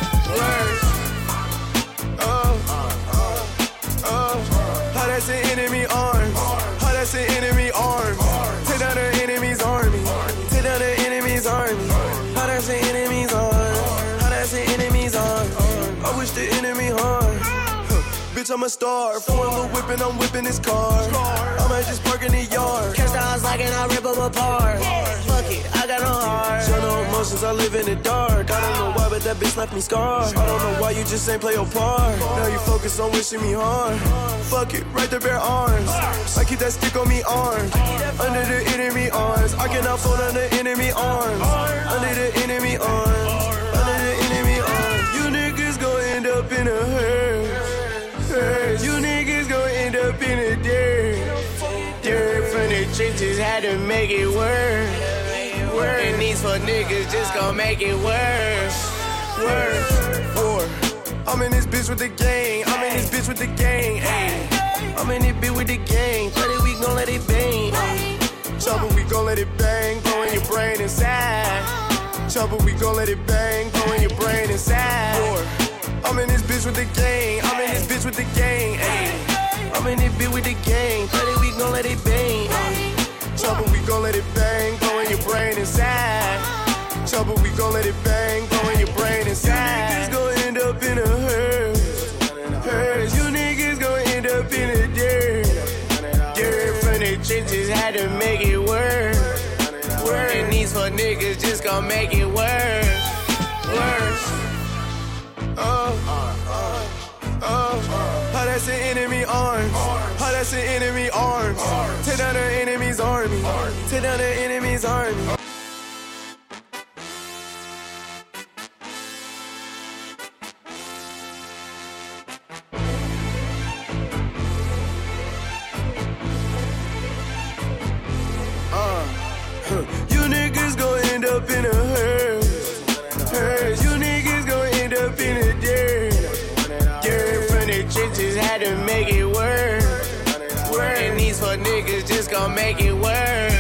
Speaker 9: How that's an enemy arm. How that's an enemy arm. Take down the enemy's army. Take down the enemy's army. How that's an enemy's arm. How that's an enemy's arm. I wish the enemy harm. Bitch, I'm a star. Foreign little whippin', I'm whipping this car. I might just park in the yard. Catch the eyes like and I rip them apart. Fuck it, I got no heart. Show no emotions, I live in the dark. I don't know why, but that bitch left me scarred. I don't know why you just ain't play your part. Now you focus on wishing me harm. Fuck it, right there, bare arms. I keep that stick on me armed. Under the enemy arms. I cannot fold under enemy arms. Under the enemy arms. Under the enemy arms. You niggas gon' end up in a hearse. You niggas gon' end up in a dirt from the trenches, had to make it worse. And these fuck niggas just gon' make it worse. I'm in this bitch with the gang. I'm in this bitch with the gang. Ay. I'm in this bitch with the gang. Play it, we gon' let it bang. Trouble, we gon' let it bang. Blowing your brain inside. Trouble, we gon' let it bang. Blowing your brain inside. I'm in this bitch with the gang. I'm in this bitch with the gang. Ay. I'm in this bitch with the gang. Play it, we gon' let it bang. Trouble, we gon' let it bang. Blowing your brain inside. Trouble, we gon' let it bang. Blowing your brain inside. You niggas gon' end up in a hearse. You niggas gon' end up in a dirt from the trenches, had to make it worse. And these fuck niggas just gon' make it worse. How that's an enemy arms. How that's an enemy arms. Take down the enemy's army. Take down the enemy's army. You niggas gon' end up in a hearse. You niggas gon' end up in a dirt from the trenches, had to make it worse. And these fuck niggas just gon' make it worse.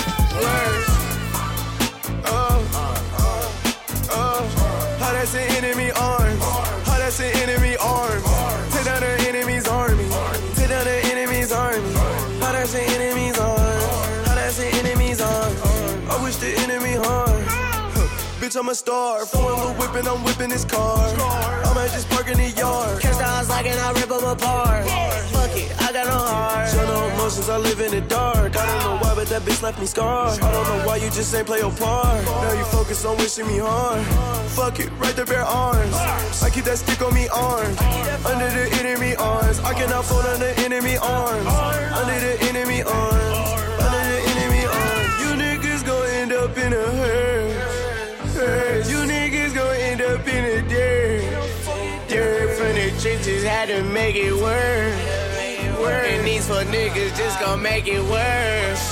Speaker 9: How that's an enemy arms. How that's an enemy arms. Take down the enemy's army. Take down the enemy's army. How that's an enemy's arm. How that's an enemy's arm. I wish the enemy harm. Bitch, I'm a star. Foreign little whippin', I'm whipping this car. I might just park in the yard. Catch the eyes like and I rip them apart. Fuck it, I got no heart. Show no emotions, I live in the dark. I don't know why, but that bitch left me scarred. I don't know why you just ain't play your part. Now you focus on wishing me harm. Fuck it, right there, bare arms. I keep that stick on me armed. Under the enemy arms. I cannot fold under enemy arms. Under the enemy arms. Under the enemy arms. You niggas gon' end up in a hearse.
Speaker 6: had to make it worse. And these fuck niggas just gon' make it worse.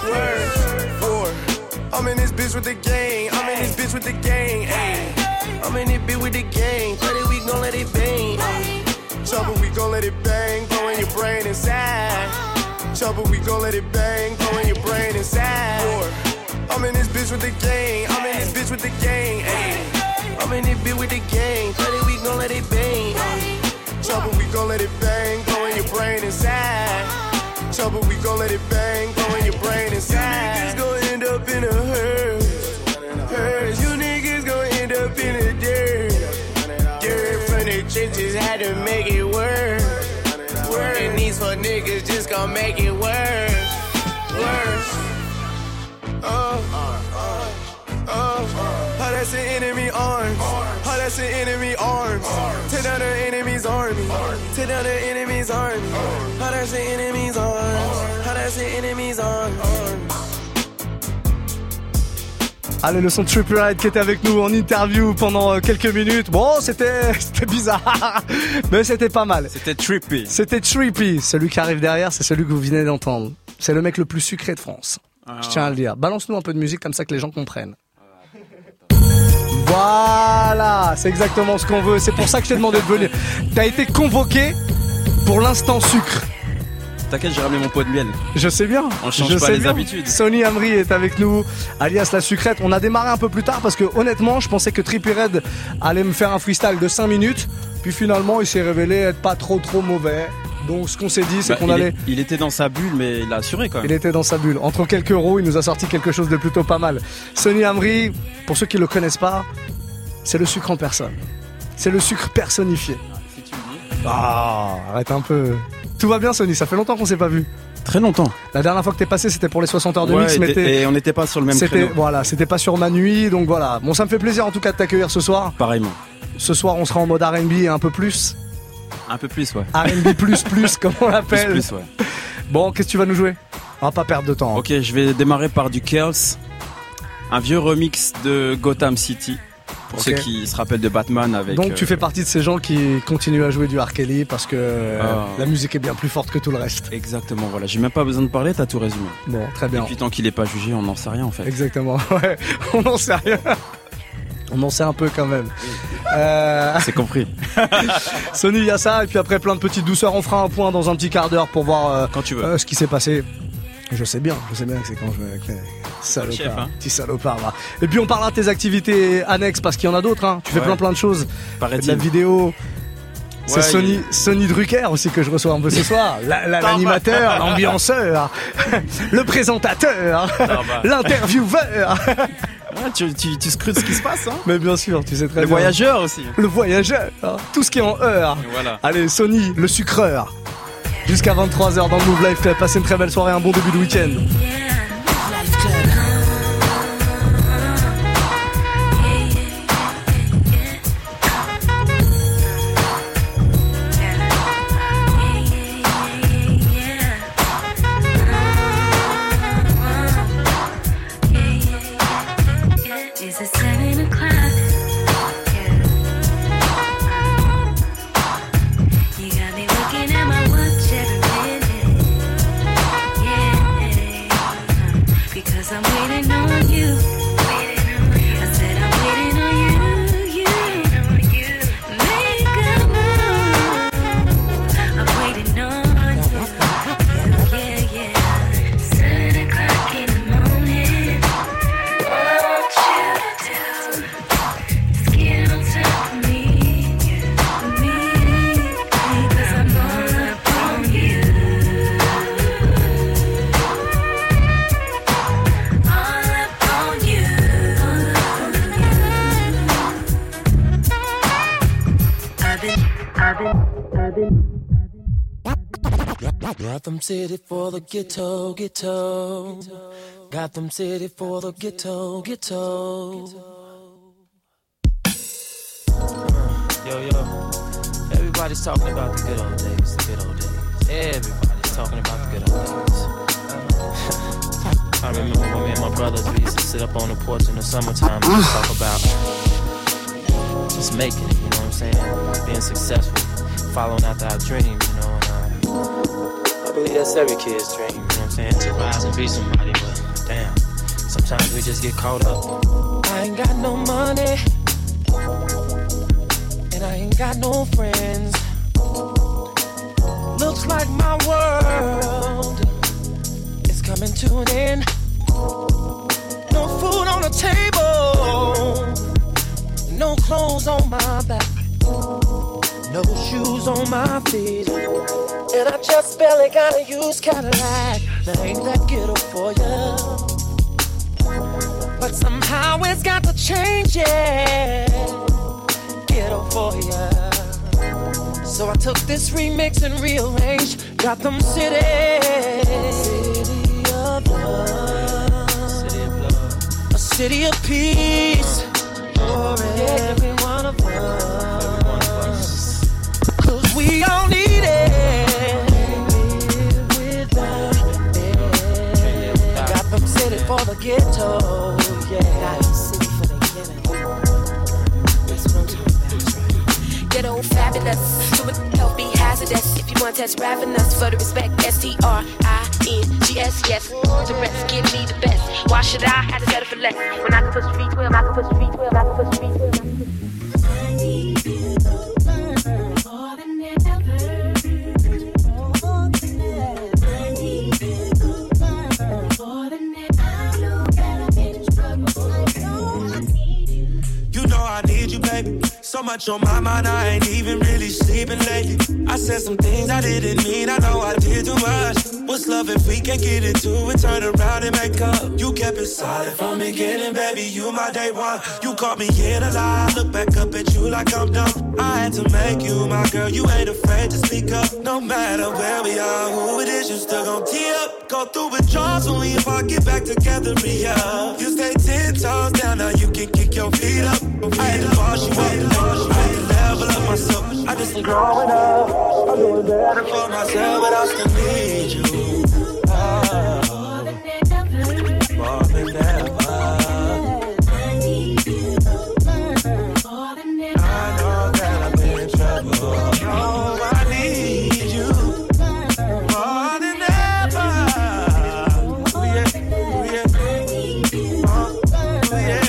Speaker 21: I'm in this bitch with the gang. I'm in this bitch with the gang. Ay. I'm in this bitch with the gang. 30 we gon' let it bang. Chopper, we gon' let it bang. Go in your brain inside. Chopper, we gon' let it bang. Go in your brain inside. I'm in this bitch with the gang. I'm in this bitch with the gang. Ay. I'm in this bitch with the gang. 30 we gon' let it bang. Chopper, we gon' let it bang. Go in your brain inside. Chopper, we gon' let it bang. Go in your brain inside. You niggas gon' end up in a hearse. You niggas gon' end up in a dirt.
Speaker 6: Dirt from the trenches had to make it worse. And these fuck niggas just gon' make it worse.
Speaker 21: How that's an enemy arms. How that's an enemy arms. Tear down the enemy's army. Tear down the enemy's army. How that's an enemy's arms. How that's an enemy's arms.
Speaker 1: Allez, le son de Trippie Redd qui était avec nous en interview pendant quelques minutes. Bon, c'était bizarre, mais c'était pas mal.
Speaker 8: C'était Trippie.
Speaker 1: C'était Trippie. Celui qui arrive derrière, c'est celui que vous venez d'entendre. C'est le mec le plus sucré de France. Je tiens à le dire. Balance-nous un peu de musique comme ça que les gens comprennent. Voilà, c'est exactement ce qu'on veut. C'est pour ça que je t'ai demandé de venir. T'as été convoqué pour l'instant sucre.
Speaker 8: T'inquiète, j'ai ramené mon pot de miel.
Speaker 1: Je sais bien.
Speaker 8: On change pas les habitudes.
Speaker 1: Sonny Amri est avec nous, alias La Sucrète. On a démarré un peu plus tard parce que honnêtement, je pensais que Trippie Redd allait me faire un freestyle de 5 minutes. Puis finalement, il s'est révélé être pas trop mauvais. Donc ce qu'on s'est dit, c'est qu'on allait...
Speaker 8: Il était dans sa bulle, mais il a assuré quand même.
Speaker 1: Il était dans sa bulle. Entre quelques euros, il nous a sorti quelque chose de plutôt pas mal. Sonny Amri, pour ceux qui le connaissent pas, c'est le sucre en personne. C'est le sucre personnifié.
Speaker 8: Si tu le dis.
Speaker 1: Ah, arrête un peu. Tout va bien, Sonny, ça fait longtemps qu'on s'est pas vu.
Speaker 8: Très longtemps.
Speaker 1: La dernière fois que t'es passé, c'était pour les 60 heures de mix.
Speaker 8: Et on n'était pas sur le même créneau.
Speaker 1: Voilà, c'était pas sur ma nuit, donc voilà. Bon, ça me fait plaisir en tout cas de t'accueillir ce soir.
Speaker 8: Pareillement.
Speaker 1: Ce soir, on sera en mode R&B et un peu plus.
Speaker 8: Un peu plus, ouais.
Speaker 1: R&B plus, comme on l'appelle.
Speaker 8: Plus, ouais.
Speaker 1: Bon, qu'est-ce que tu vas nous jouer? On va pas perdre de temps.
Speaker 8: Ok, je vais démarrer par du Curls. Un vieux remix de Gotham City. Pour ceux qui se rappellent de Batman avec...
Speaker 1: Donc tu fais partie de ces gens qui continuent à jouer du R. Kelly parce que la musique est bien plus forte que tout le reste.
Speaker 8: Exactement, voilà. J'ai même pas besoin de parler, t'as tout résumé.
Speaker 1: Bon, très bien.
Speaker 8: Et puis tant qu'il est pas jugé, on n'en sait rien en fait.
Speaker 1: Exactement, ouais. On n'en sait rien. On en sait un peu quand même.
Speaker 8: C'est compris.
Speaker 1: Sonny, il y a ça, et puis après plein de petites douceurs. On fera un point dans un petit quart d'heure pour voir
Speaker 8: quand tu veux.
Speaker 1: Ce qui s'est passé. Je sais bien que c'est quand je vais avec les salopards, petit salopard là. Et puis on parlera de tes activités annexes parce qu'il y en a d'autres, hein. Tu fais plein de choses.
Speaker 8: Paraît-il.
Speaker 1: De la vidéo. C'est Sonny Drucker aussi que je reçois un peu ce soir. L'animateur, l'ambianceur, le présentateur, l'intervieweur.
Speaker 8: Tu scrutes ce qui se passe, hein.
Speaker 1: Mais bien sûr, tu sais très bien.
Speaker 8: Le voyageur aussi.
Speaker 1: Le voyageur, hein. Tout ce qui est en heure.
Speaker 8: Voilà.
Speaker 1: Allez, Sonny, le sucreur. Jusqu'à 23h dans le Move Live Club. Passez une très belle soirée, un bon début de week-end.
Speaker 11: Gotham City for the ghetto. Gotham City for the ghetto. Yo. Everybody's talking about the good old days. Everybody's talking about the good old days. I remember when me and my brothers, we used to sit up on the porch in the summertime and talk about just making it, you know what I'm saying? Being successful.
Speaker 20: following after our dream, you know. And I believe that's every kid's dream, you know what I'm saying? To rise and be somebody, but damn, sometimes we just get caught up.
Speaker 11: I ain't got no money, and I ain't got no friends. Looks like my world is coming to an end. No food on the table, no clothes on my back, no shoes on my feet, and I just barely got a used Cadillac. Now ain't that ghetto for ya? But somehow it's got to change, yeah. Ghetto for ya. So I took this remix and rearranged Gotham City. City of love, city of love, a city of peace for every one of us. 'Cause we all need it. Live without it. Gotham City for the ghetto, yeah. Gotham City for the ghetto. That's what I'm talking about.
Speaker 12: Ghetto fabulous, to it help be hazardous. If you want that's ravenous, for the respect, STRINGS, yes. To rest, give me the best. Why should I have to settle for less? When I can push 312, I can push 312, I can push 312. I need you more than ever. I need you more than ever. I know that I've been in trouble. I know I need you.
Speaker 4: You know I need you, baby. So much on my mind, I ain't even really sleeping lately. I said some things I didn't mean, I know I did too much. What's love if we can't get into it, turn around and make up? You kept it solid from the beginning, baby, you my day one. You caught me in a lie, look back up at you like I'm dumb. I had to make you my girl, you ain't afraid to speak up. No matter where we are, who it is, you still gon' tee up. Go through withdrawals, only if I get back together, re-up. You stay 10 toes down, now you can kick your feet up. I had to wash you up. I had to level up myself. I just been growing up. I'm doing better for myself, but I still need you. More than ever. I need you more than ever. I know that I've been in trouble. Oh, I need you more than ever. Oh yeah, oh yeah. I need you oh yeah.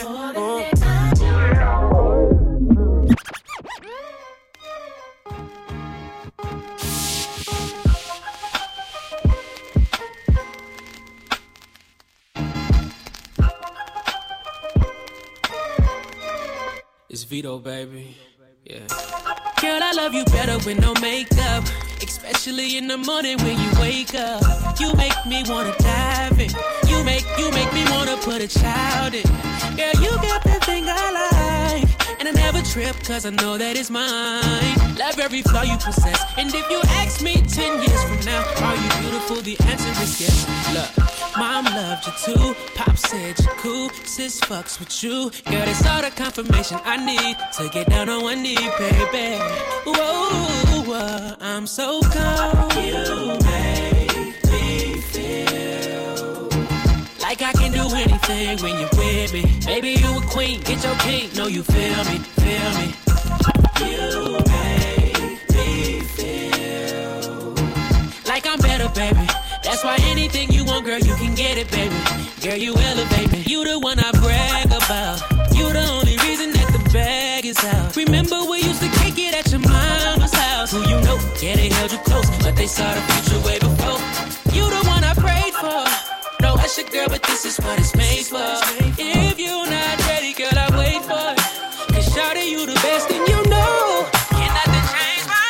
Speaker 11: It's Vito, baby. Yeah. Girl, I love you better with no makeup, especially in the morning when you wake up. You make me wanna dive in. You make me wanna put a child in. Girl, you got that thing I like, and I never trip 'cause I know that it's mine. Love every flaw you possess, and if you ask me 10 years from now, are you beautiful? The answer is yes. Look, Mom loved you too, Pop said you're cool, sis fucks with you. Girl, that's all the confirmation I need to get down on one knee, baby. Whoa, I'm so cold. You make me feel like I can do anything when you're with me. Baby, you a queen, get your king. No, you feel me, feel me. You make me feel like I'm better, baby. That's why anything you want, girl, you can get it, baby. Girl, you elevate me. You the one I brag about. You the only reason that the bag is out. Remember we used to kick it at your mama's house. Who you know? Yeah, they held you close, but they saw the future way before. You the one I prayed for. No, that's your girl, but this is what it's made for. If you're not ready, girl, I wait for it. 'Cause shawty, you the best, and you know can't nothing change my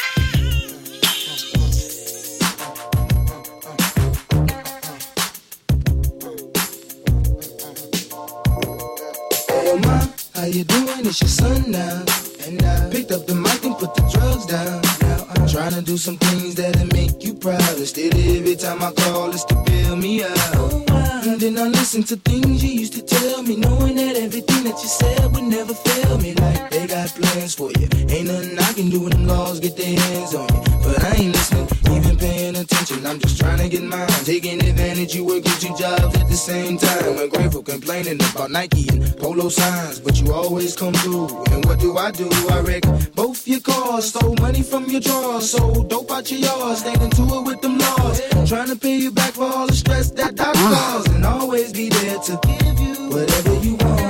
Speaker 13: Oh ma, how you doing? It's your son now. And I picked up the mic and put the drugs down. Now I'm trying to do some things that'll make you proud. Instead of every time I call, it's to bail me out. And then I listen to things you used to tell me, knowing that everything that you said would never fail me. Like they got plans for you. Ain't nothing I can do when them laws get their hands on you. But I ain't listening, even paying attention, I'm just trying to get mine. Taking advantage, you working 2 jobs at the same time. Ungrateful, complaining about Nike and polo signs, but you always come through. And what do? I wreck both your cars, stole money from your drawers, sold dope out your yard, stayed into it with them laws. Trying to pay you back for all the stress that I caused, and always be there to give you whatever you want.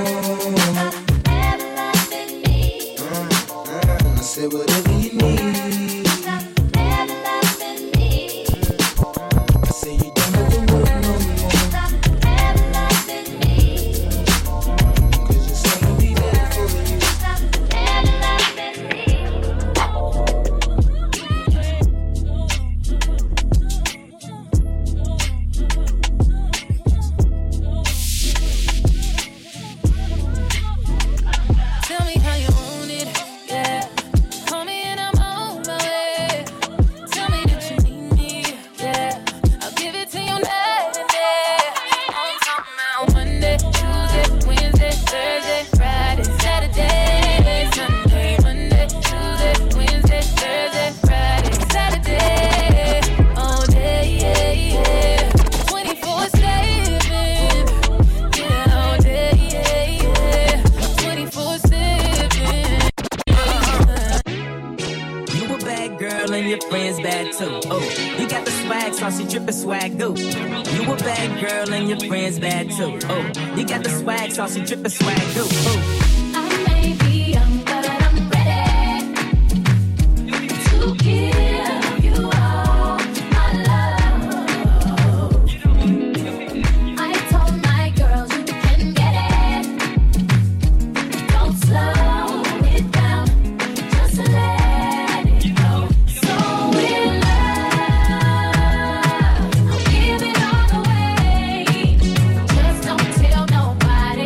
Speaker 13: I said whatever you need.
Speaker 16: Saucy drippin' swag, go.
Speaker 10: I may be young, but I'm ready to give you all my love. I told my girls you can get it. Don't slow it down, just let it go. So in love, I'll give it all away. Just don't tell nobody.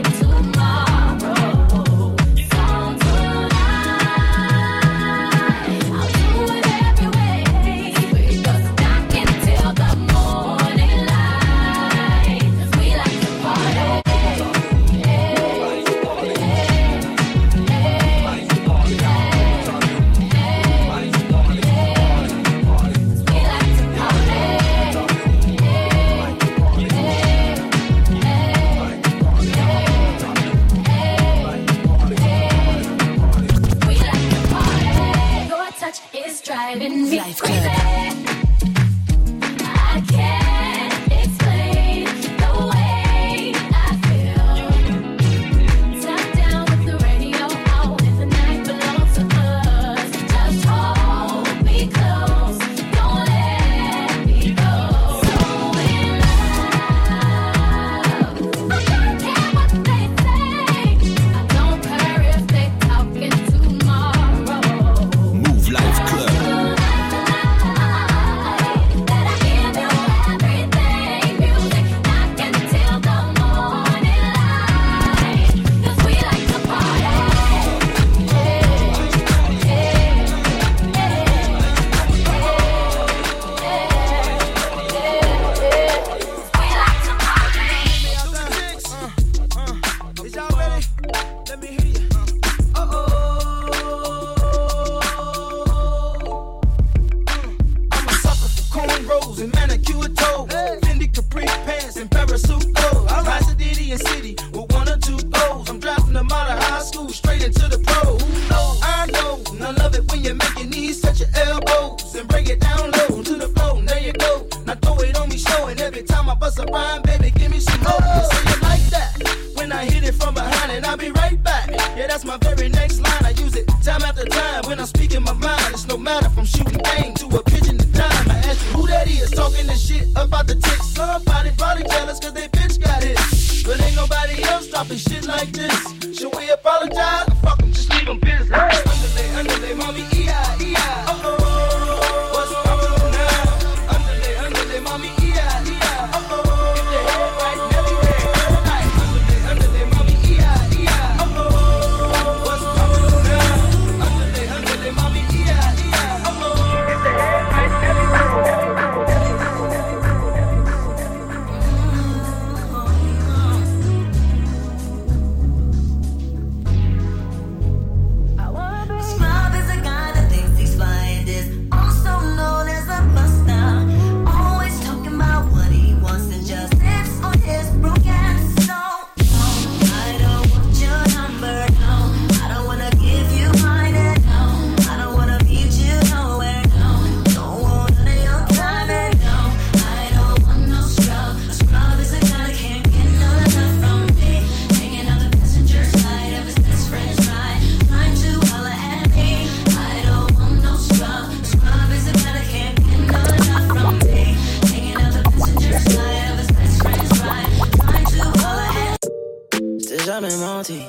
Speaker 6: jamais menti.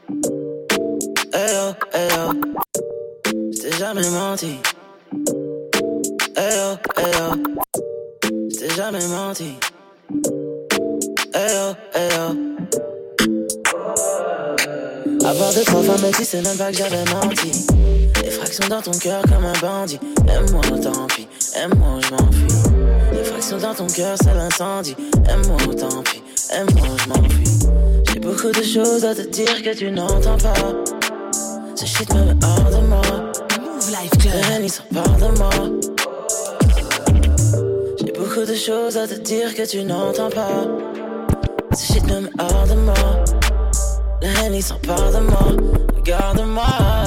Speaker 6: Hey oh, hey oh. Je t'ai jamais menti. Hey oh, hey oh. Je t'ai jamais menti. Hey oh, hey oh. Avoir 2-3 femmes, mais tu sais même pas que j'avais menti. Des fractions dans ton cœur comme un bandit. Aime-moi, tant pis. Aime-moi, je m'enfuis. Des fractions dans ton cœur, c'est l'incendie. Aime-moi, tant pis. Aime-moi, je m'enfuis. J'ai beaucoup de choses à te dire que tu n'entends pas. Ce shit me met hors de moi. Move Life Club. Les haines, sont part de moi. J'ai beaucoup de choses à te dire que tu n'entends pas. Ce shit me met hors de moi. Les haines, sont part de moi. Regarde-moi.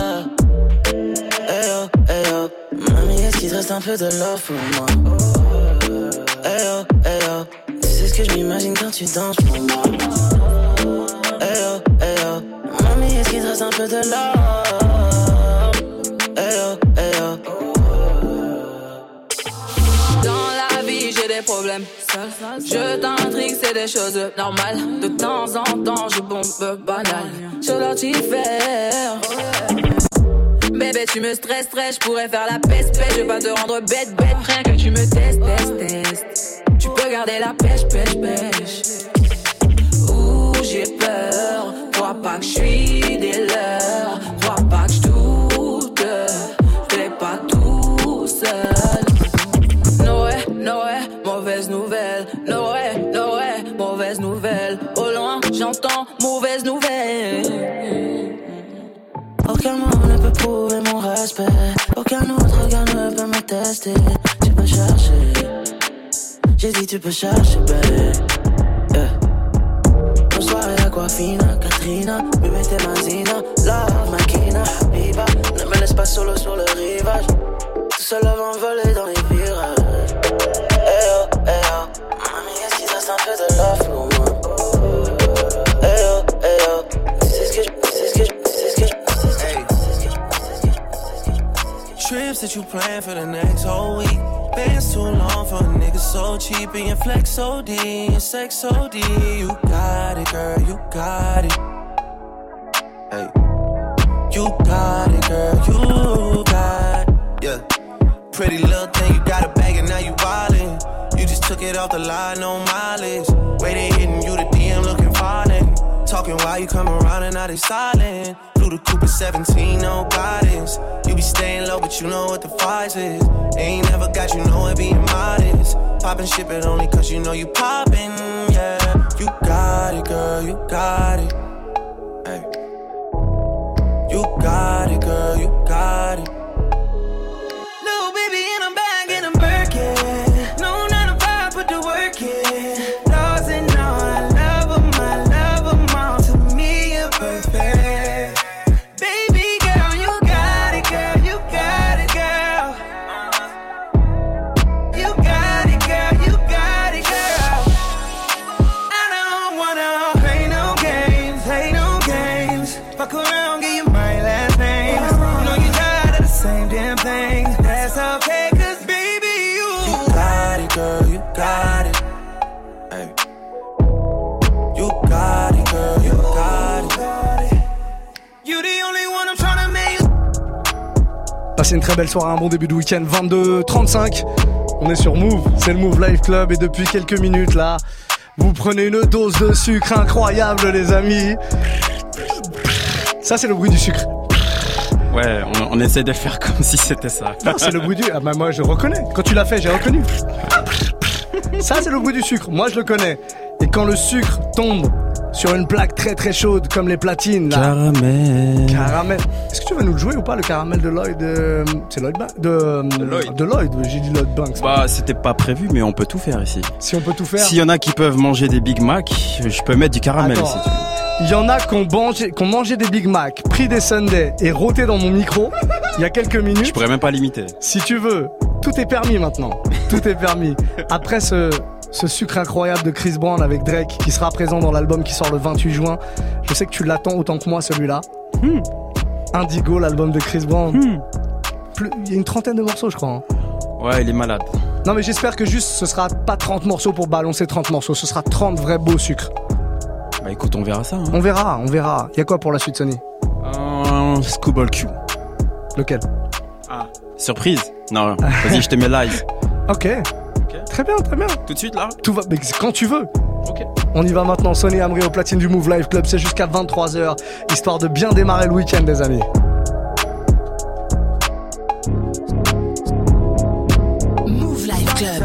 Speaker 6: Hey oh, hey oh. Mamie, est-ce qu'il te reste un peu de love pour moi? Hey oh, hey oh. Tu sais ce que je m'imagine quand tu danses pour moi. Hey oh, hey oh. Mamie, est-ce qu'il te reste un peu de love? Hey oh, hey oh.
Speaker 19: Dans la vie, j'ai des problèmes. Je t'intrigue, c'est des choses normales. De temps en temps, je bombe banal. Je dois t'y faire. Bébé, tu me stresses, je pourrais faire la peste. Je vais pas te rendre bête, rien que tu me testes. Tu peux garder la pêche. Ouh, j'ai peur. Crois pas que je suis des leurs. Crois pas que je doute. Je vais pas tout seul. Noé, mauvaise nouvelle. Noé, mauvaise nouvelle. Au loin, j'entends mauvaise nouvelle. Aucun mot ne peut prouver mon respect. Aucun autre regard ne peut me tester. Tu peux chercher. J'ai dit tu peux chercher, babe. Yeah. Bonsoir et Aquafina, Katrina, bébé t'es Mazina, love Makina, Biba. Ne me laisse pas solo sur le rivage. Tout seul avant de voler dans les virages. Hey oh, hey oh. Mamie, est-ce qu'il te reste un peu de love pour moi? Hey oh, hey oh. Tu sais ce que je
Speaker 7: trips that you plan for the next whole week. Bands too long for a nigga so cheap. And your flex OD, your sex OD. You got it, girl, you got it. Hey. You got it, girl, you got it. Yeah. Pretty little thing, you got a bag and now you wildin'. You just took it off the line, no mileage. Way they hitting you, the DM looking violent. Talking while you come around and now they silent. Flew the Cooper 17, no guidance. You be staying low, but you know what the price is. Ain't never got you know it being modest. Poppin' shit, but only cause you know you poppin', yeah. You got it, girl, you got it. Hey. You got it, girl, you got it.
Speaker 4: Little baby in a bag and I'm Birkin. No 9 to 5, put the work in. Lost and all, I love them all. To me, you're perfect. Baby girl, you got it, girl, you got it, girl. You got it, girl, you got it, girl. I don't wanna play no games. Fuck around, give you my last name. Know you tired of the same damn thing. That's okay, cause baby,
Speaker 7: You got it, girl, you got it. Hey. You got it, girl, you got it.
Speaker 4: You the only one I'm tryna make.
Speaker 1: Passez une très belle soirée, un bon début de week-end, 22h35. On est sur Move, c'est le Move Life Club et depuis quelques minutes là, vous prenez une dose de sucre incroyable les amis. Ça c'est le bruit du sucre.
Speaker 8: Ouais, on essaie de faire comme si c'était ça.
Speaker 1: Non, c'est le bruit du... Ah bah moi je reconnais, quand tu l'as fait j'ai reconnu. Ça c'est le bruit du sucre, moi je le connais. Et quand le sucre tombe sur une plaque très très chaude comme les platines là. Caramel. Est-ce que tu vas nous le jouer ou pas le caramel de Lloyd c'est Lloyd de Lloyd, j'ai dit Lloyd Banks.
Speaker 8: Bah c'était pas prévu mais on peut tout faire ici.
Speaker 1: Si on peut tout faire.
Speaker 8: S'il y en a qui peuvent manger des Big Mac, je peux mettre du caramel ici.
Speaker 1: Il y en a qui ont mangé des Big Mac, pris des Sundays et roté dans mon micro il y a quelques minutes.
Speaker 8: Je pourrais même pas l'imiter.
Speaker 1: Si tu veux, tout est permis maintenant. Tout est permis. Après ce sucre incroyable de Chris Brown avec Drake qui sera présent dans l'album qui sort le 28 juin. Je sais que tu l'attends autant que moi celui-là. Indigo, l'album de Chris Brown. Il y a une trentaine de morceaux je crois. Hein.
Speaker 8: Ouais, il est malade.
Speaker 1: Non mais j'espère que juste ce sera pas 30 morceaux pour balancer 30 morceaux. Ce sera 30 vrais beaux sucres.
Speaker 8: Bah écoute, on verra ça. Hein.
Speaker 1: On verra. Y a quoi pour la suite, Sonny?
Speaker 8: Schoolboy Q.
Speaker 1: Lequel?
Speaker 8: Surprise. Non, vas-y, je te mets live.
Speaker 1: Ok. Très bien.
Speaker 8: Tout de suite là?
Speaker 1: Tout va, mais quand tu veux.
Speaker 8: Ok.
Speaker 1: On y va maintenant, Sonny Amri au platine du Move Live Club, c'est jusqu'à 23h, histoire de bien démarrer le week-end, les amis.
Speaker 10: Move Live Club.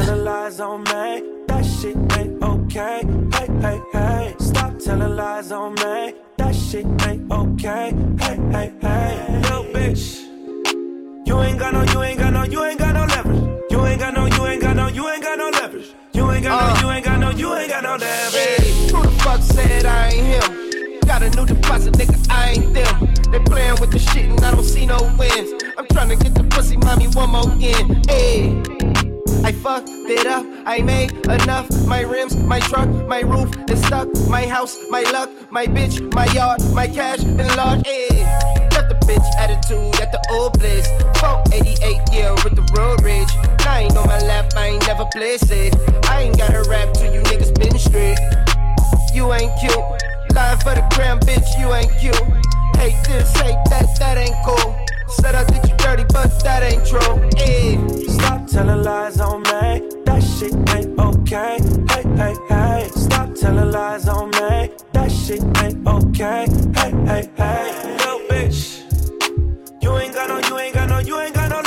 Speaker 11: Stop telling lies on me. That shit ain't okay. Hey, hey, hey. Yo, bitch. You ain't got no leverage. You ain't got no leverage. You ain't got no leverage.
Speaker 21: Who the fuck said I ain't him? Got a new deposit, nigga, I ain't them. They playing with the shit and I don't see no wins. I'm trying to get the pussy, mommy, one more again. Hey, I fucked it up, I made enough. My rims, my truck, my roof is stuck. My house, my luck, my bitch, my yard, my cash and large. Hey, got the bitch attitude at the old place. 488, yeah, with the road rage. I ain't on my lap, I ain't never play safe. I ain't got a rap till you niggas been straight. You ain't cute, lying for the gram, bitch, you ain't cute. Hate this, hate that, that ain't cool. Said I did you dirty, but that ain't true. Hey.
Speaker 11: Stop telling lies on me. That shit ain't okay. Hey, hey, hey. Stop telling lies on me. That shit ain't okay. Hey, hey, hey. Yo, bitch. You ain't got no leverage. You ain't got no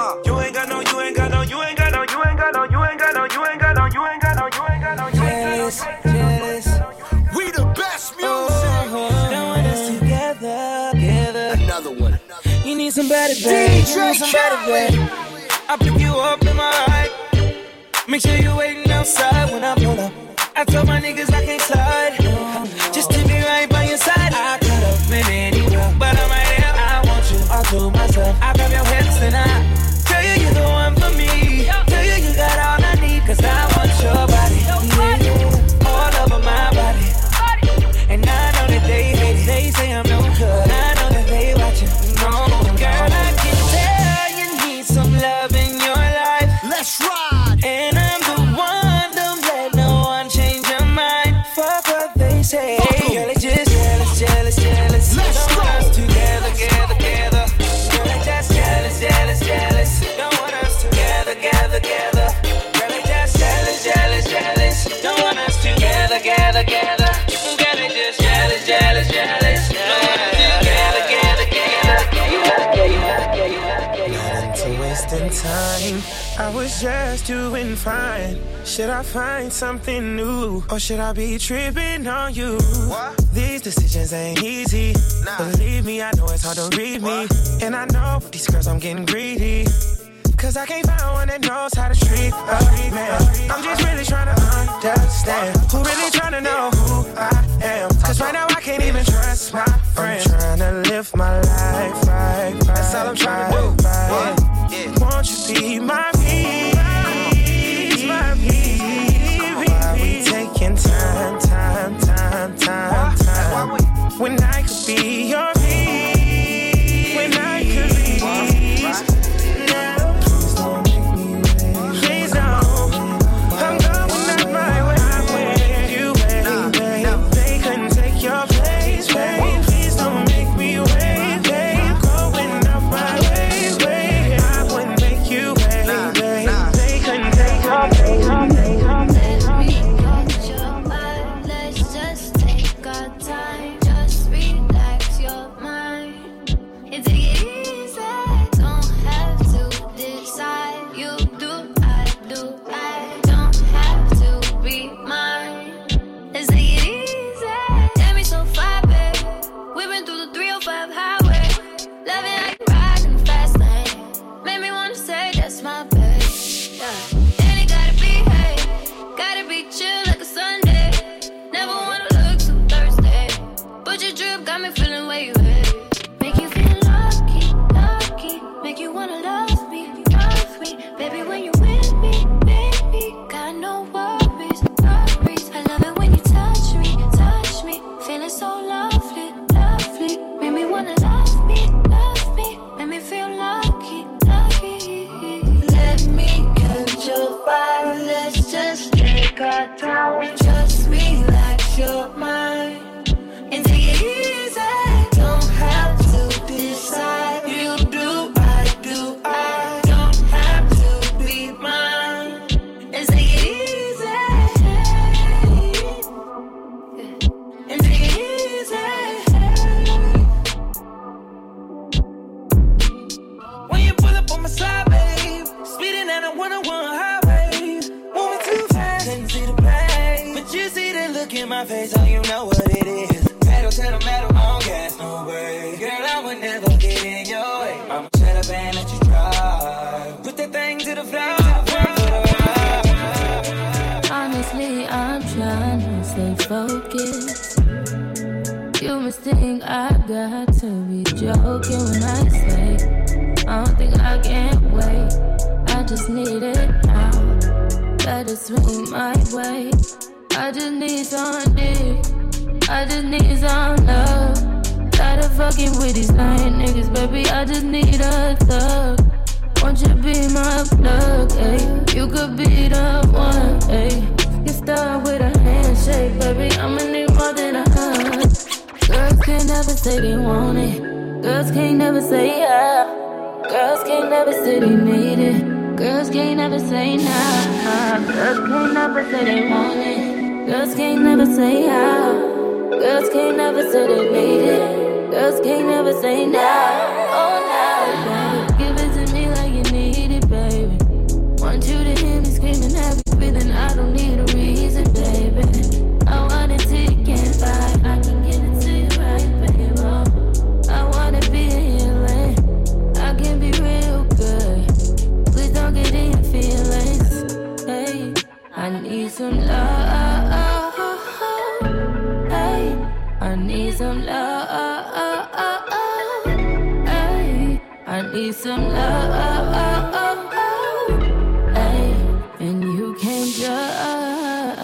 Speaker 21: Jealous.
Speaker 9: We the best music.
Speaker 11: Don't want us together.
Speaker 9: Another one.
Speaker 11: You need somebody, babe. You need somebody, babe. I pick you up in my ride. Make sure you're waiting outside when I pull up. I told my niggas I can't slide. Just to be right by your side. I could have been anywhere, but I'm right here. I want you all to myself. I grab your hips and I tell you you're the one for me. Tell you you got all I need, cause I want your body. Yeah, all over my body. And I know that they hate it. They say I'm no good. I know that they watching. No, girl, I can tell you need some love in your life.
Speaker 9: Let's ride.
Speaker 11: And I'm the one, don't let no one change your mind. Fuck what they say. Girl, it's just jealous.
Speaker 9: Let's
Speaker 11: don't want us together. Girl, it's just jealous. Don't want us together. Girl, it's just jealous. Don't want us together. Girl, it's just jealous. Don't want us together. Wasting time, I was just doing fine. Should I find something new, or should I be tripping on you? What? These decisions ain't easy. Believe me, I know it's hard to read me. And I know with these girls I'm getting greedy, cause I can't find one that knows how to treat a man. I'm just really trying to understand who really trying to know who I am. Cause right now I can't even trust my friends. I'm trying to live my life right. That's all I'm trying to do. Right. Won't you be my peace? My peace. Why we taking time? When I could be your peace. When I could be peace. Please don't make me wait. Please don't. I'm going out my way. You wait. They couldn't take your place, babe. Please don't make me wait, babe. Going out my way. I wouldn't make you wait, babe. They couldn't take your place.
Speaker 10: Let's just take our time. Just relax your
Speaker 15: so you know what it is. Pedal to the metal, on gas, no way. Girl, I would never get in your way. I'ma shut up and let you drive. Put that thing to the floor.
Speaker 17: Honestly, I'm trying to stay focused. You must think I got to be joking when I say I don't think I can wait. I just need it now. Better swing my way. I just need some dick. I just need some love. Tired of fucking with these lying niggas, baby. I just need a thug. Won't you be my plug, ayy? You could be the one, ayy. Get started with a handshake, baby. I'ma need more than a hug. Girls can't never say they want it. Girls can't never say yeah. Girls can't never say they need it. Girls can't never say nah. Girls can't never say they want it. Girls can't never say how. Girls can't never say they need it. Girls can't never say nah. Oh nah, give it to me like you need it, baby. Want you to hear me screaming happy, then I don't need a reason, baby. I want it till you can't buy. I can get it to you right, baby. I wanna be a healing. I can be real good. Please don't get in your feelings. Hey, I need some love. Hey, I need some love. Hey, I need some love. Hey, and you can't judge.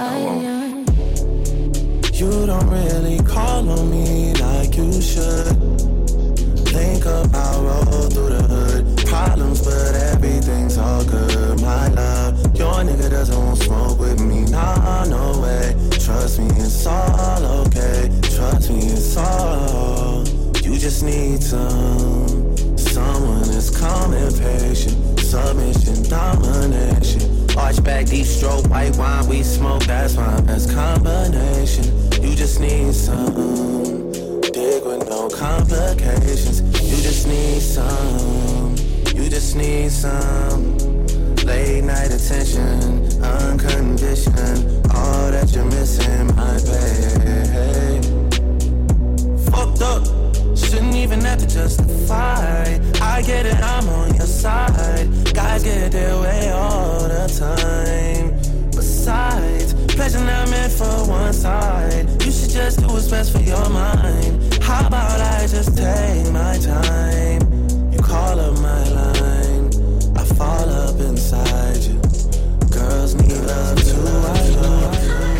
Speaker 7: You don't really call on me like you should. Think about roll through the hood. Problems, but everything's all good. My love, your nigga doesn't want smoke with me. Nah, no way. Trust me, it's all okay. Trust me, it's all. You just need someone that's calm and patient. Submission, domination. Arch back, deep stroke, white wine, we smoke. That's my best combination. You just need some dig with no complications. You just need some. You just need some late night attention, unconditioned. All that you're missing, my babe. Fucked up, shouldn't even have to justify. I get it, I'm on your side. Guys get their way all the time. Besides, pleasure not meant for one side. You should just do what's best for your mind. How about I just take my time? You call up my line, I fall up inside you. Girls need love too, I know.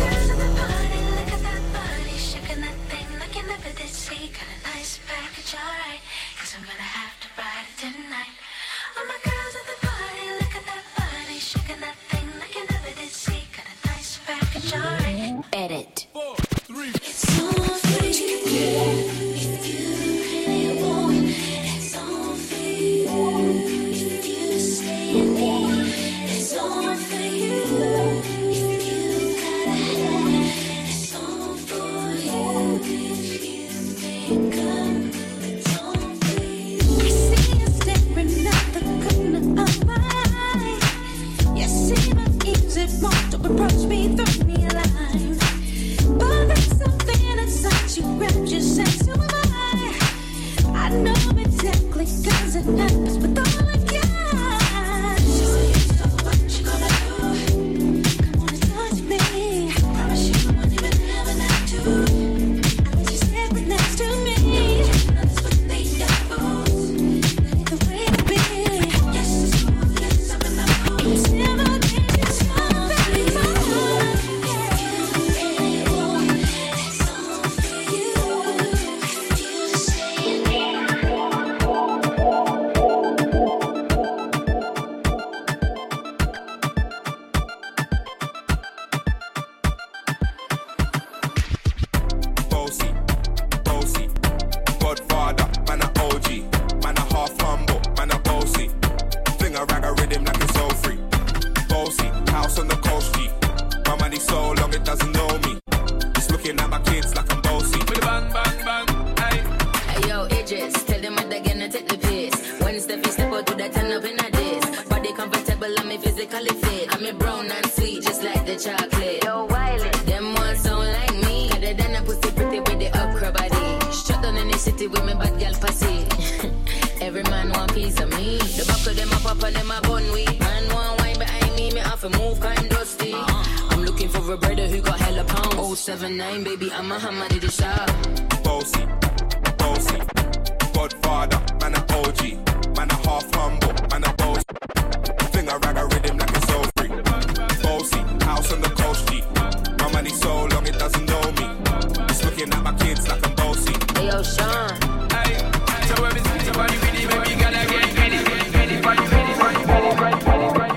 Speaker 10: Edit.
Speaker 15: 4, 3.
Speaker 10: It's all for you. If you really want, it's all for you. If you stay in me, it's all for you. If you gotta have it, it's all for you. If you make up, it's all for you. I see you staring at the corner of my eye. You see my easy want to approach me through me line. But there's something inside you, grab your sense, who am I know exactly, cause it happens with all I got. So what you gonna do? Come on and touch me. Promise you won't even have an eye to. I let you step right next to me. That's what they do. That ain't the way to be. Yes, it's smooth, yes, I'm in the mood. It's never been this long, baby.
Speaker 23: Bossy, Godfather, man a OG, man a half humble, man a bossy. Fling a rag a rhythm like it's all free. Bossy, house on the coast G. My money so long it doesn't know me. It's looking at my kids like I'm bossy. Bang, bang, bang, hey.
Speaker 10: Hey yo, Idris, tell them what they're gonna take the piss. When step out to that turn up in a diss. Body comfortable, I'm physically fit. I'm a brown and sweet, just like the chocolate. Yo, Wiley, them ones sound like me. Better than up and them a bun weed. Man, one wine behind me have to move kind dusty. I'm looking for a brother who got hella pounds. 079, baby, I'm a hammer to the shop.
Speaker 23: Bossy, bossy, Godfather, man a OG, man a half humble, man a bossy. Finger rag a rhythm like it's so free. Bossy, house on the coast G. My money so long it doesn't know me. It's looking at my kids like I'm bossy.
Speaker 10: Hey yo, Sean.
Speaker 11: Hey, so every somebody ready, baby, gotta get ready, ready, ready, ready, ready, ready, ready, ready, ready.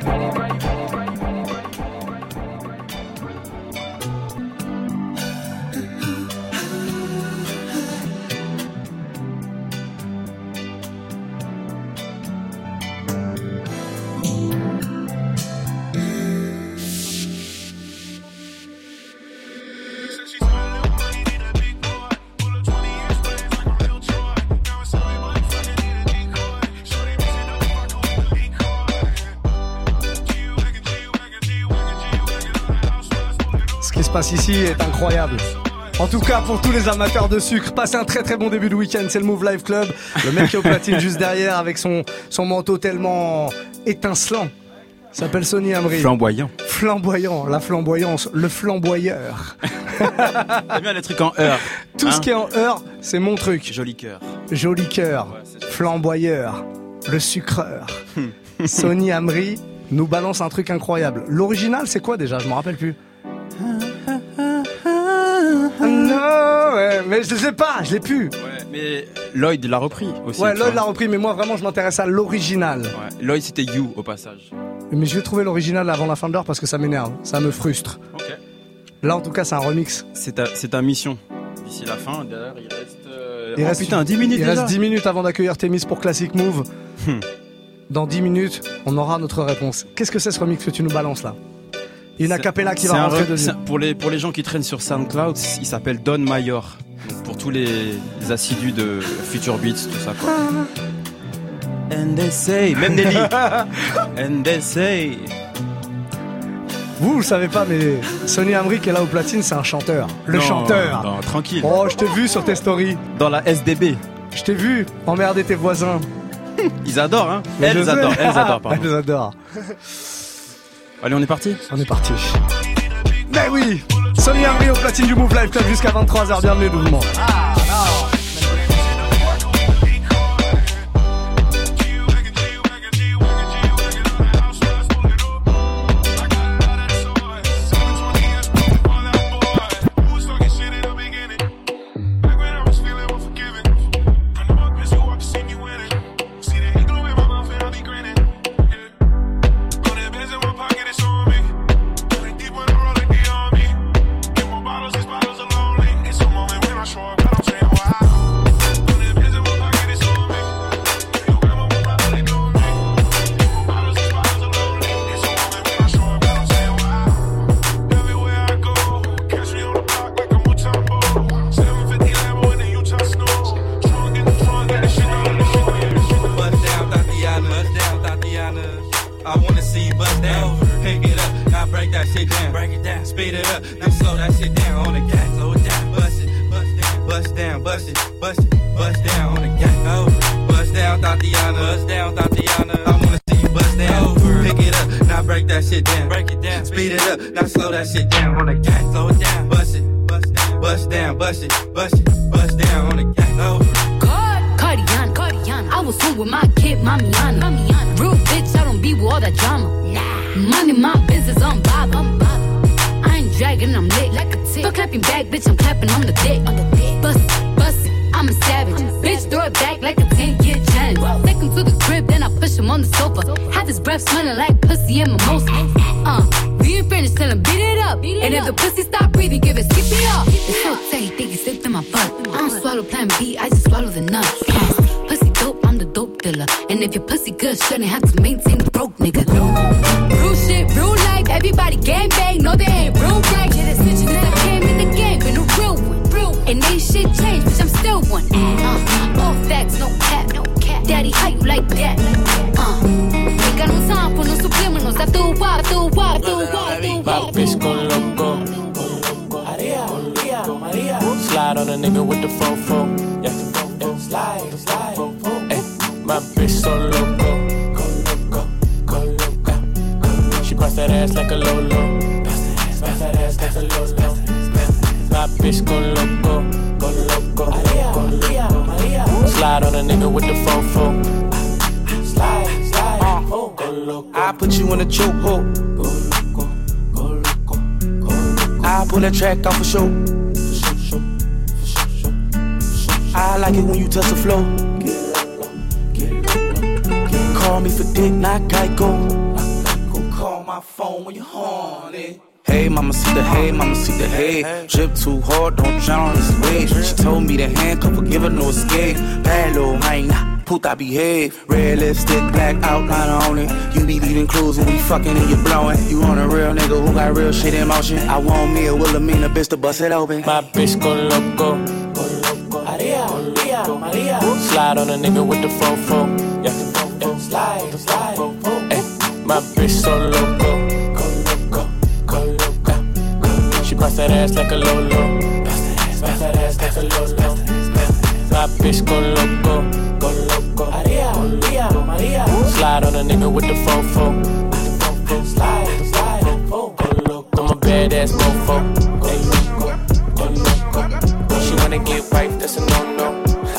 Speaker 1: Passe ici est incroyable. En tout cas, pour tous les amateurs de sucre, passez un très très bon début de week-end. C'est le Move Life Club. Le mec qui est au platine juste derrière avec son manteau tellement étincelant s'appelle Sonny Amri.
Speaker 8: Flamboyant.
Speaker 1: Flamboyant, la flamboyance, le flamboyeur.
Speaker 8: T'aimes bien les trucs en heure.
Speaker 1: Tout ce qui est en heure, c'est mon truc.
Speaker 8: Joli cœur.
Speaker 1: Joli cœur, flamboyeur, le sucreur. Sonny Amri nous balance un truc incroyable. L'original, c'est quoi déjà? Je m'en rappelle plus. Non, ouais, mais je sais pas, je l'ai plus.
Speaker 8: Ouais, mais Lloyd l'a repris aussi.
Speaker 1: Ouais, Lloyd l'a repris, mais moi vraiment je m'intéresse à l'original.
Speaker 8: Ouais, Lloyd c'était You au passage.
Speaker 1: Mais je vais trouver l'original avant la fin de l'heure parce que ça m'énerve, ça me frustre.
Speaker 8: Ok.
Speaker 1: Là en tout cas c'est un remix.
Speaker 8: C'est ta mission. D'ici la fin, d'ailleurs il reste... putain, 10 minutes
Speaker 1: il
Speaker 8: déjà.
Speaker 1: Reste 10 minutes avant d'accueillir Thémis pour Classic Move. Dans 10 minutes, on aura notre réponse. Qu'est-ce que c'est ce remix que tu nous balances là? Il y a une acapella qui va rentrer dedans.
Speaker 8: Pour les gens qui traînent sur SoundCloud, il s'appelle Don Mayor. Donc pour tous les assidus de Future Beats, tout ça quoi. And they say, même Nelly. And they say.
Speaker 1: Vous le savez pas, mais Sonny Amri qui est là au platine, c'est un chanteur. Le chanteur.
Speaker 8: Non, tranquille.
Speaker 1: Oh, je t'ai vu sur tes stories.
Speaker 8: Dans la SDB.
Speaker 1: Je t'ai vu emmerder tes voisins.
Speaker 8: Ils adorent, hein. Elles adorent, pardon.
Speaker 1: Elles adorent.
Speaker 8: Allez, on est parti?
Speaker 1: On est parti. Mais oui, Sonny Amri au platine du Move Life Club jusqu'à 23h, bienvenue tout le monde.
Speaker 10: Shouldn't have to maintain the broke nigga. Real shit, real life, everybody gang bang. No, they ain't real right. Yeah, that's snitching since I came in the game, been a real one. And ain't shit changed, bitch, I'm still one. All facts, no cap, no cap. Daddy, how you like that? Ain't got no time for no subliminals. I threw a wide,
Speaker 14: Bitch go loco. Slide on a nigga with the fofo. Yeah, slide. Ay, my bitch so loco. ass like a Lolo. Bounce that ass like a Lolo. My bitch go loco, go loco, go loco. Slide on a nigga with the fofo. Slide, go loco.
Speaker 21: I put you in a chokehold. Go loco, go loco, go loco. I pull that track off for show. I like it when you touch the floor. Call me for dick, not Geico. Call my phone when you're horny. Hey, mama, see the hay, mama, see the hay. Drip too hard, don't drown on this wave. She told me to handcuff her, give her no escape. Bad little hyena, puta behave. Red lipstick, black outline on it. You be leaving clues when we fucking and you blowing. You on a real nigga who got real shit in motion. I want me a Wilhelmina bitch to bust it open.
Speaker 14: My bitch go loco, go loco. Maria. Slide on a nigga with the fofo. Yeah, slide. Ay, my bitch so loco. She bounce that ass like a Lolo. Bounce that ass like a Lolo. My bitch go loco. Maria. Slide on a nigga with the fofo. Slide, go loco. I'm a badass mofo. Go loco. She wanna get wife, that's a no-no.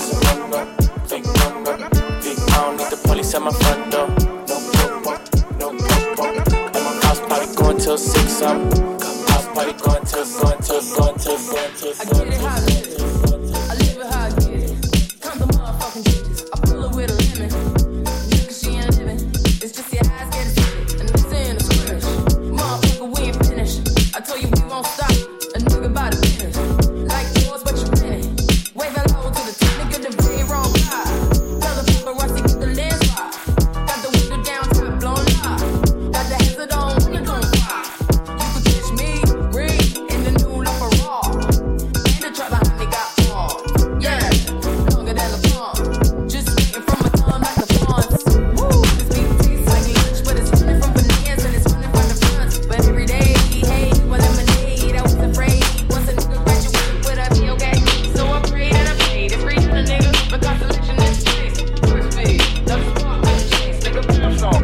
Speaker 14: I don't need the police at my front door. No. And my house party going till 6 up. Party going till. I get it how I get it. I live it how I get it. Come the motherfucking bitches. I pull her with a lemon. Nigga, she ain't living. It's just your eyes get it. And this ain't a scrimmage. Motherfucker, we ain't finished. I told you we won't stop. A nigga by the finish. Like yours, but you winning. Wave hello to the top, nigga, the very wrong guy. Tell the paparazzi get the lens right. Got the window down, top blown up. Got the hazard on, when you gon' fly. You could catch me. In the new love for raw. And the trap behind me got paws. Yeah, longer than a palm. Just waiting from my tongue like the pawns. Woo, this beat tastes like lunch, but it's running from bananas and it's running from the front. But every day, hey, well, lemonade, I was afraid. Once a nigga graduated with a be okay. So I prayed and I paid. It's free to the nigga, but consolation is space. First speed, double spark, chase, nigga, pimp song.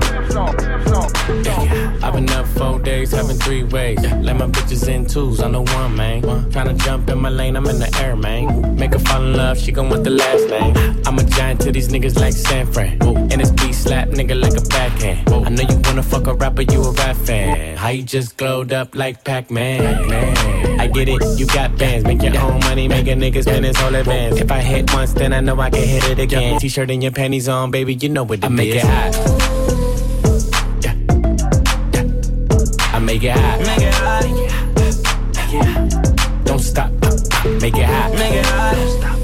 Speaker 14: I've been up 4 days, having 3 ways. Let my bitches in twos, I'm the one, man. Tryna jump in my lane, I'm in the air, man. Make her fall in love, she gon' want the last name. I'm a giant to these niggas like San Fran. And this beat slap nigga like a backhand. I know you wanna fuck a rapper, you a rap fan. How you just glowed up like Pac-Man? I get it, you got bands. Make your own money, make a nigga spend his whole advance. If I hit once, then I know I can hit it again. T-shirt and your panties on, baby, you know what it is. I make it hot. Make it hot. Make it hot. Make it hot. Don't stop. Make it hot. Make it hot.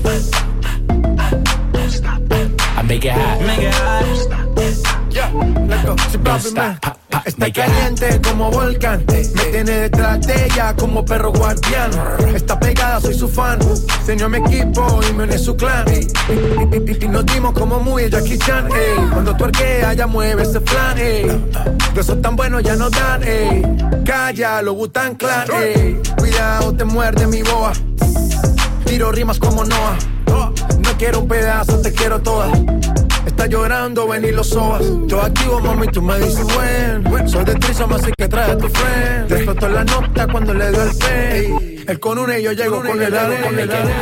Speaker 14: Don't stop. I make it hot. Make it hot.
Speaker 21: Yeah, let's go.
Speaker 14: Don't stop.
Speaker 21: Está caliente como volcán. Me tiene detrás de ella como perro guardián. Está pegada, soy su fan. Se unió a mi equipo y me uní a su clan. Y nos dimos como muy Jackie Chan. Cuando tuerquea, ella mueve ese flan. Besos tan buenos ya no dan. Calla, lo Wu-Tang Clan. Cuidado, te muerde mi boa. Tiro rimas como Noah. No quiero un pedazo, te quiero toda. Está llorando, ven y lo sobas. Yo activo, mami, tú me dices when. Soy de Trisom, así que trae a tu friend. Te explotó la nota cuando le dio el pay. Él con una y yo llego con el aro, con el aro.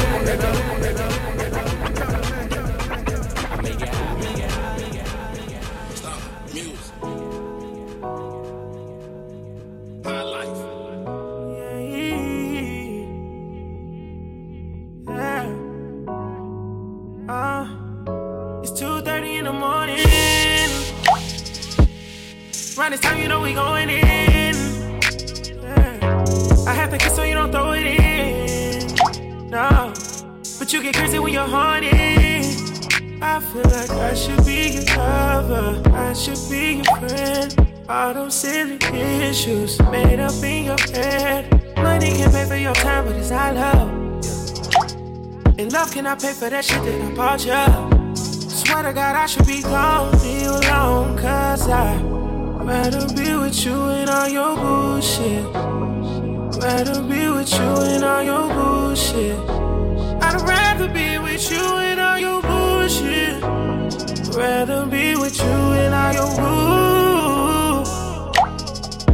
Speaker 7: Around this time, you know we going in. I have to kiss so you don't throw it in. No, but you get crazy when you're horny. I feel like I should be your lover. I should be your friend. All those silly issues made up in your head. Money can pay for your time, but it's not love. And love cannot pay for that shit that I bought you. Swear to God, I should be gone, leave you alone, 'cause I'd rather be with you and all your bullshit. Rather be with you and all your bullshit. I'd rather be with you and all your bullshit. Rather be with you and all your bullshit.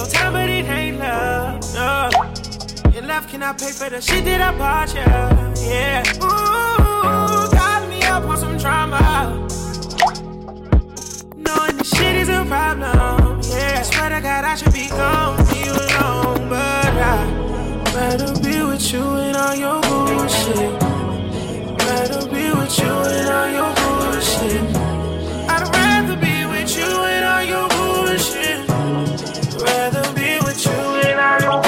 Speaker 3: your time, but it ain't love. No. Your love cannot pay for the shit that I bought you. Yeah. Ooh, got me up on some drama. Knowing this shit is a problem. Yeah. I swear to God, I should be gone, leave you alone, but I'd rather be with you and all your bullshit. Rather be with you and all your bullshit. I'd rather be with you and all your bullshit. Rather be with you and all your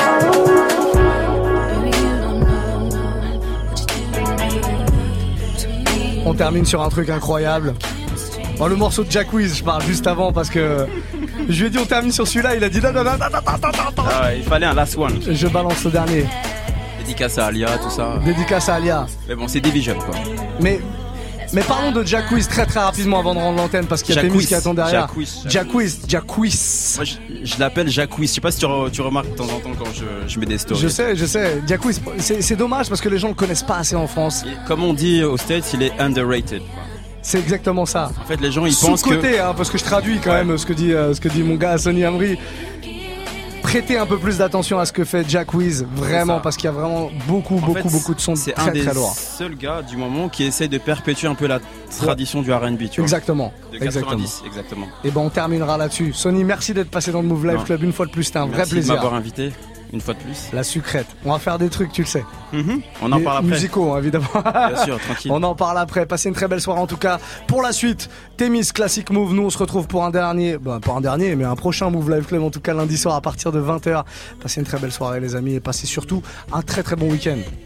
Speaker 3: bullshit.
Speaker 1: On termine sur un truc incroyable. Oh, le morceau de Jack Wiz, je parle juste avant parce que je lui ai dit on termine sur celui-là, il a dit non.
Speaker 8: Ah, il fallait un last one.
Speaker 1: Je balance le dernier.
Speaker 8: Dédicace à Alia, tout ça.
Speaker 1: Dédicace à Alia.
Speaker 8: Mais bon, c'est Division quoi.
Speaker 1: Mais parlons de Jack Wiz très rapidement avant de rendre l'antenne parce qu'il y a Témis qui attend derrière. Jack Wiz.
Speaker 8: Moi je l'appelle Jack Wiz. Je sais pas si tu remarques de temps en temps quand je mets des stories.
Speaker 1: Je sais. Jack Wiz, c'est dommage parce que les gens le connaissent pas assez en France.
Speaker 8: Et comme on dit aux States, il est underrated quoi.
Speaker 1: C'est exactement ça.
Speaker 8: En fait, les gens ils pensent que
Speaker 1: sous-côté, hein, parce que je traduis quand même ce que dit mon gars Sonny Amri. Prêtez un peu plus d'attention à ce que fait Jack Wiz, vraiment, parce qu'il y a vraiment beaucoup de sons très très lourds.
Speaker 8: C'est un des seuls gars du moment qui essaye de perpétuer un peu la tradition du R&B, tu vois.
Speaker 1: Exactement.
Speaker 8: De 90, exactement.
Speaker 1: Et ben on terminera là-dessus. Sonny, merci d'être passé dans le Move Life Club une fois de plus, c'était un vrai plaisir.
Speaker 8: Merci de m'avoir invité. Une fois de plus.
Speaker 1: La sucrète. On va faire des trucs, tu le sais.
Speaker 8: On en parle après.
Speaker 1: Musicaux, évidemment.
Speaker 8: Bien sûr, tranquille.
Speaker 1: On en parle après. Passez une très belle soirée en tout cas. Pour la suite, Témis Classic Move. Nous, on se retrouve pour un dernier, pas un dernier, mais un prochain Move Live Club en tout cas lundi soir à partir de 20h. Passez une très belle soirée, les amis, et passez surtout un très très bon week-end.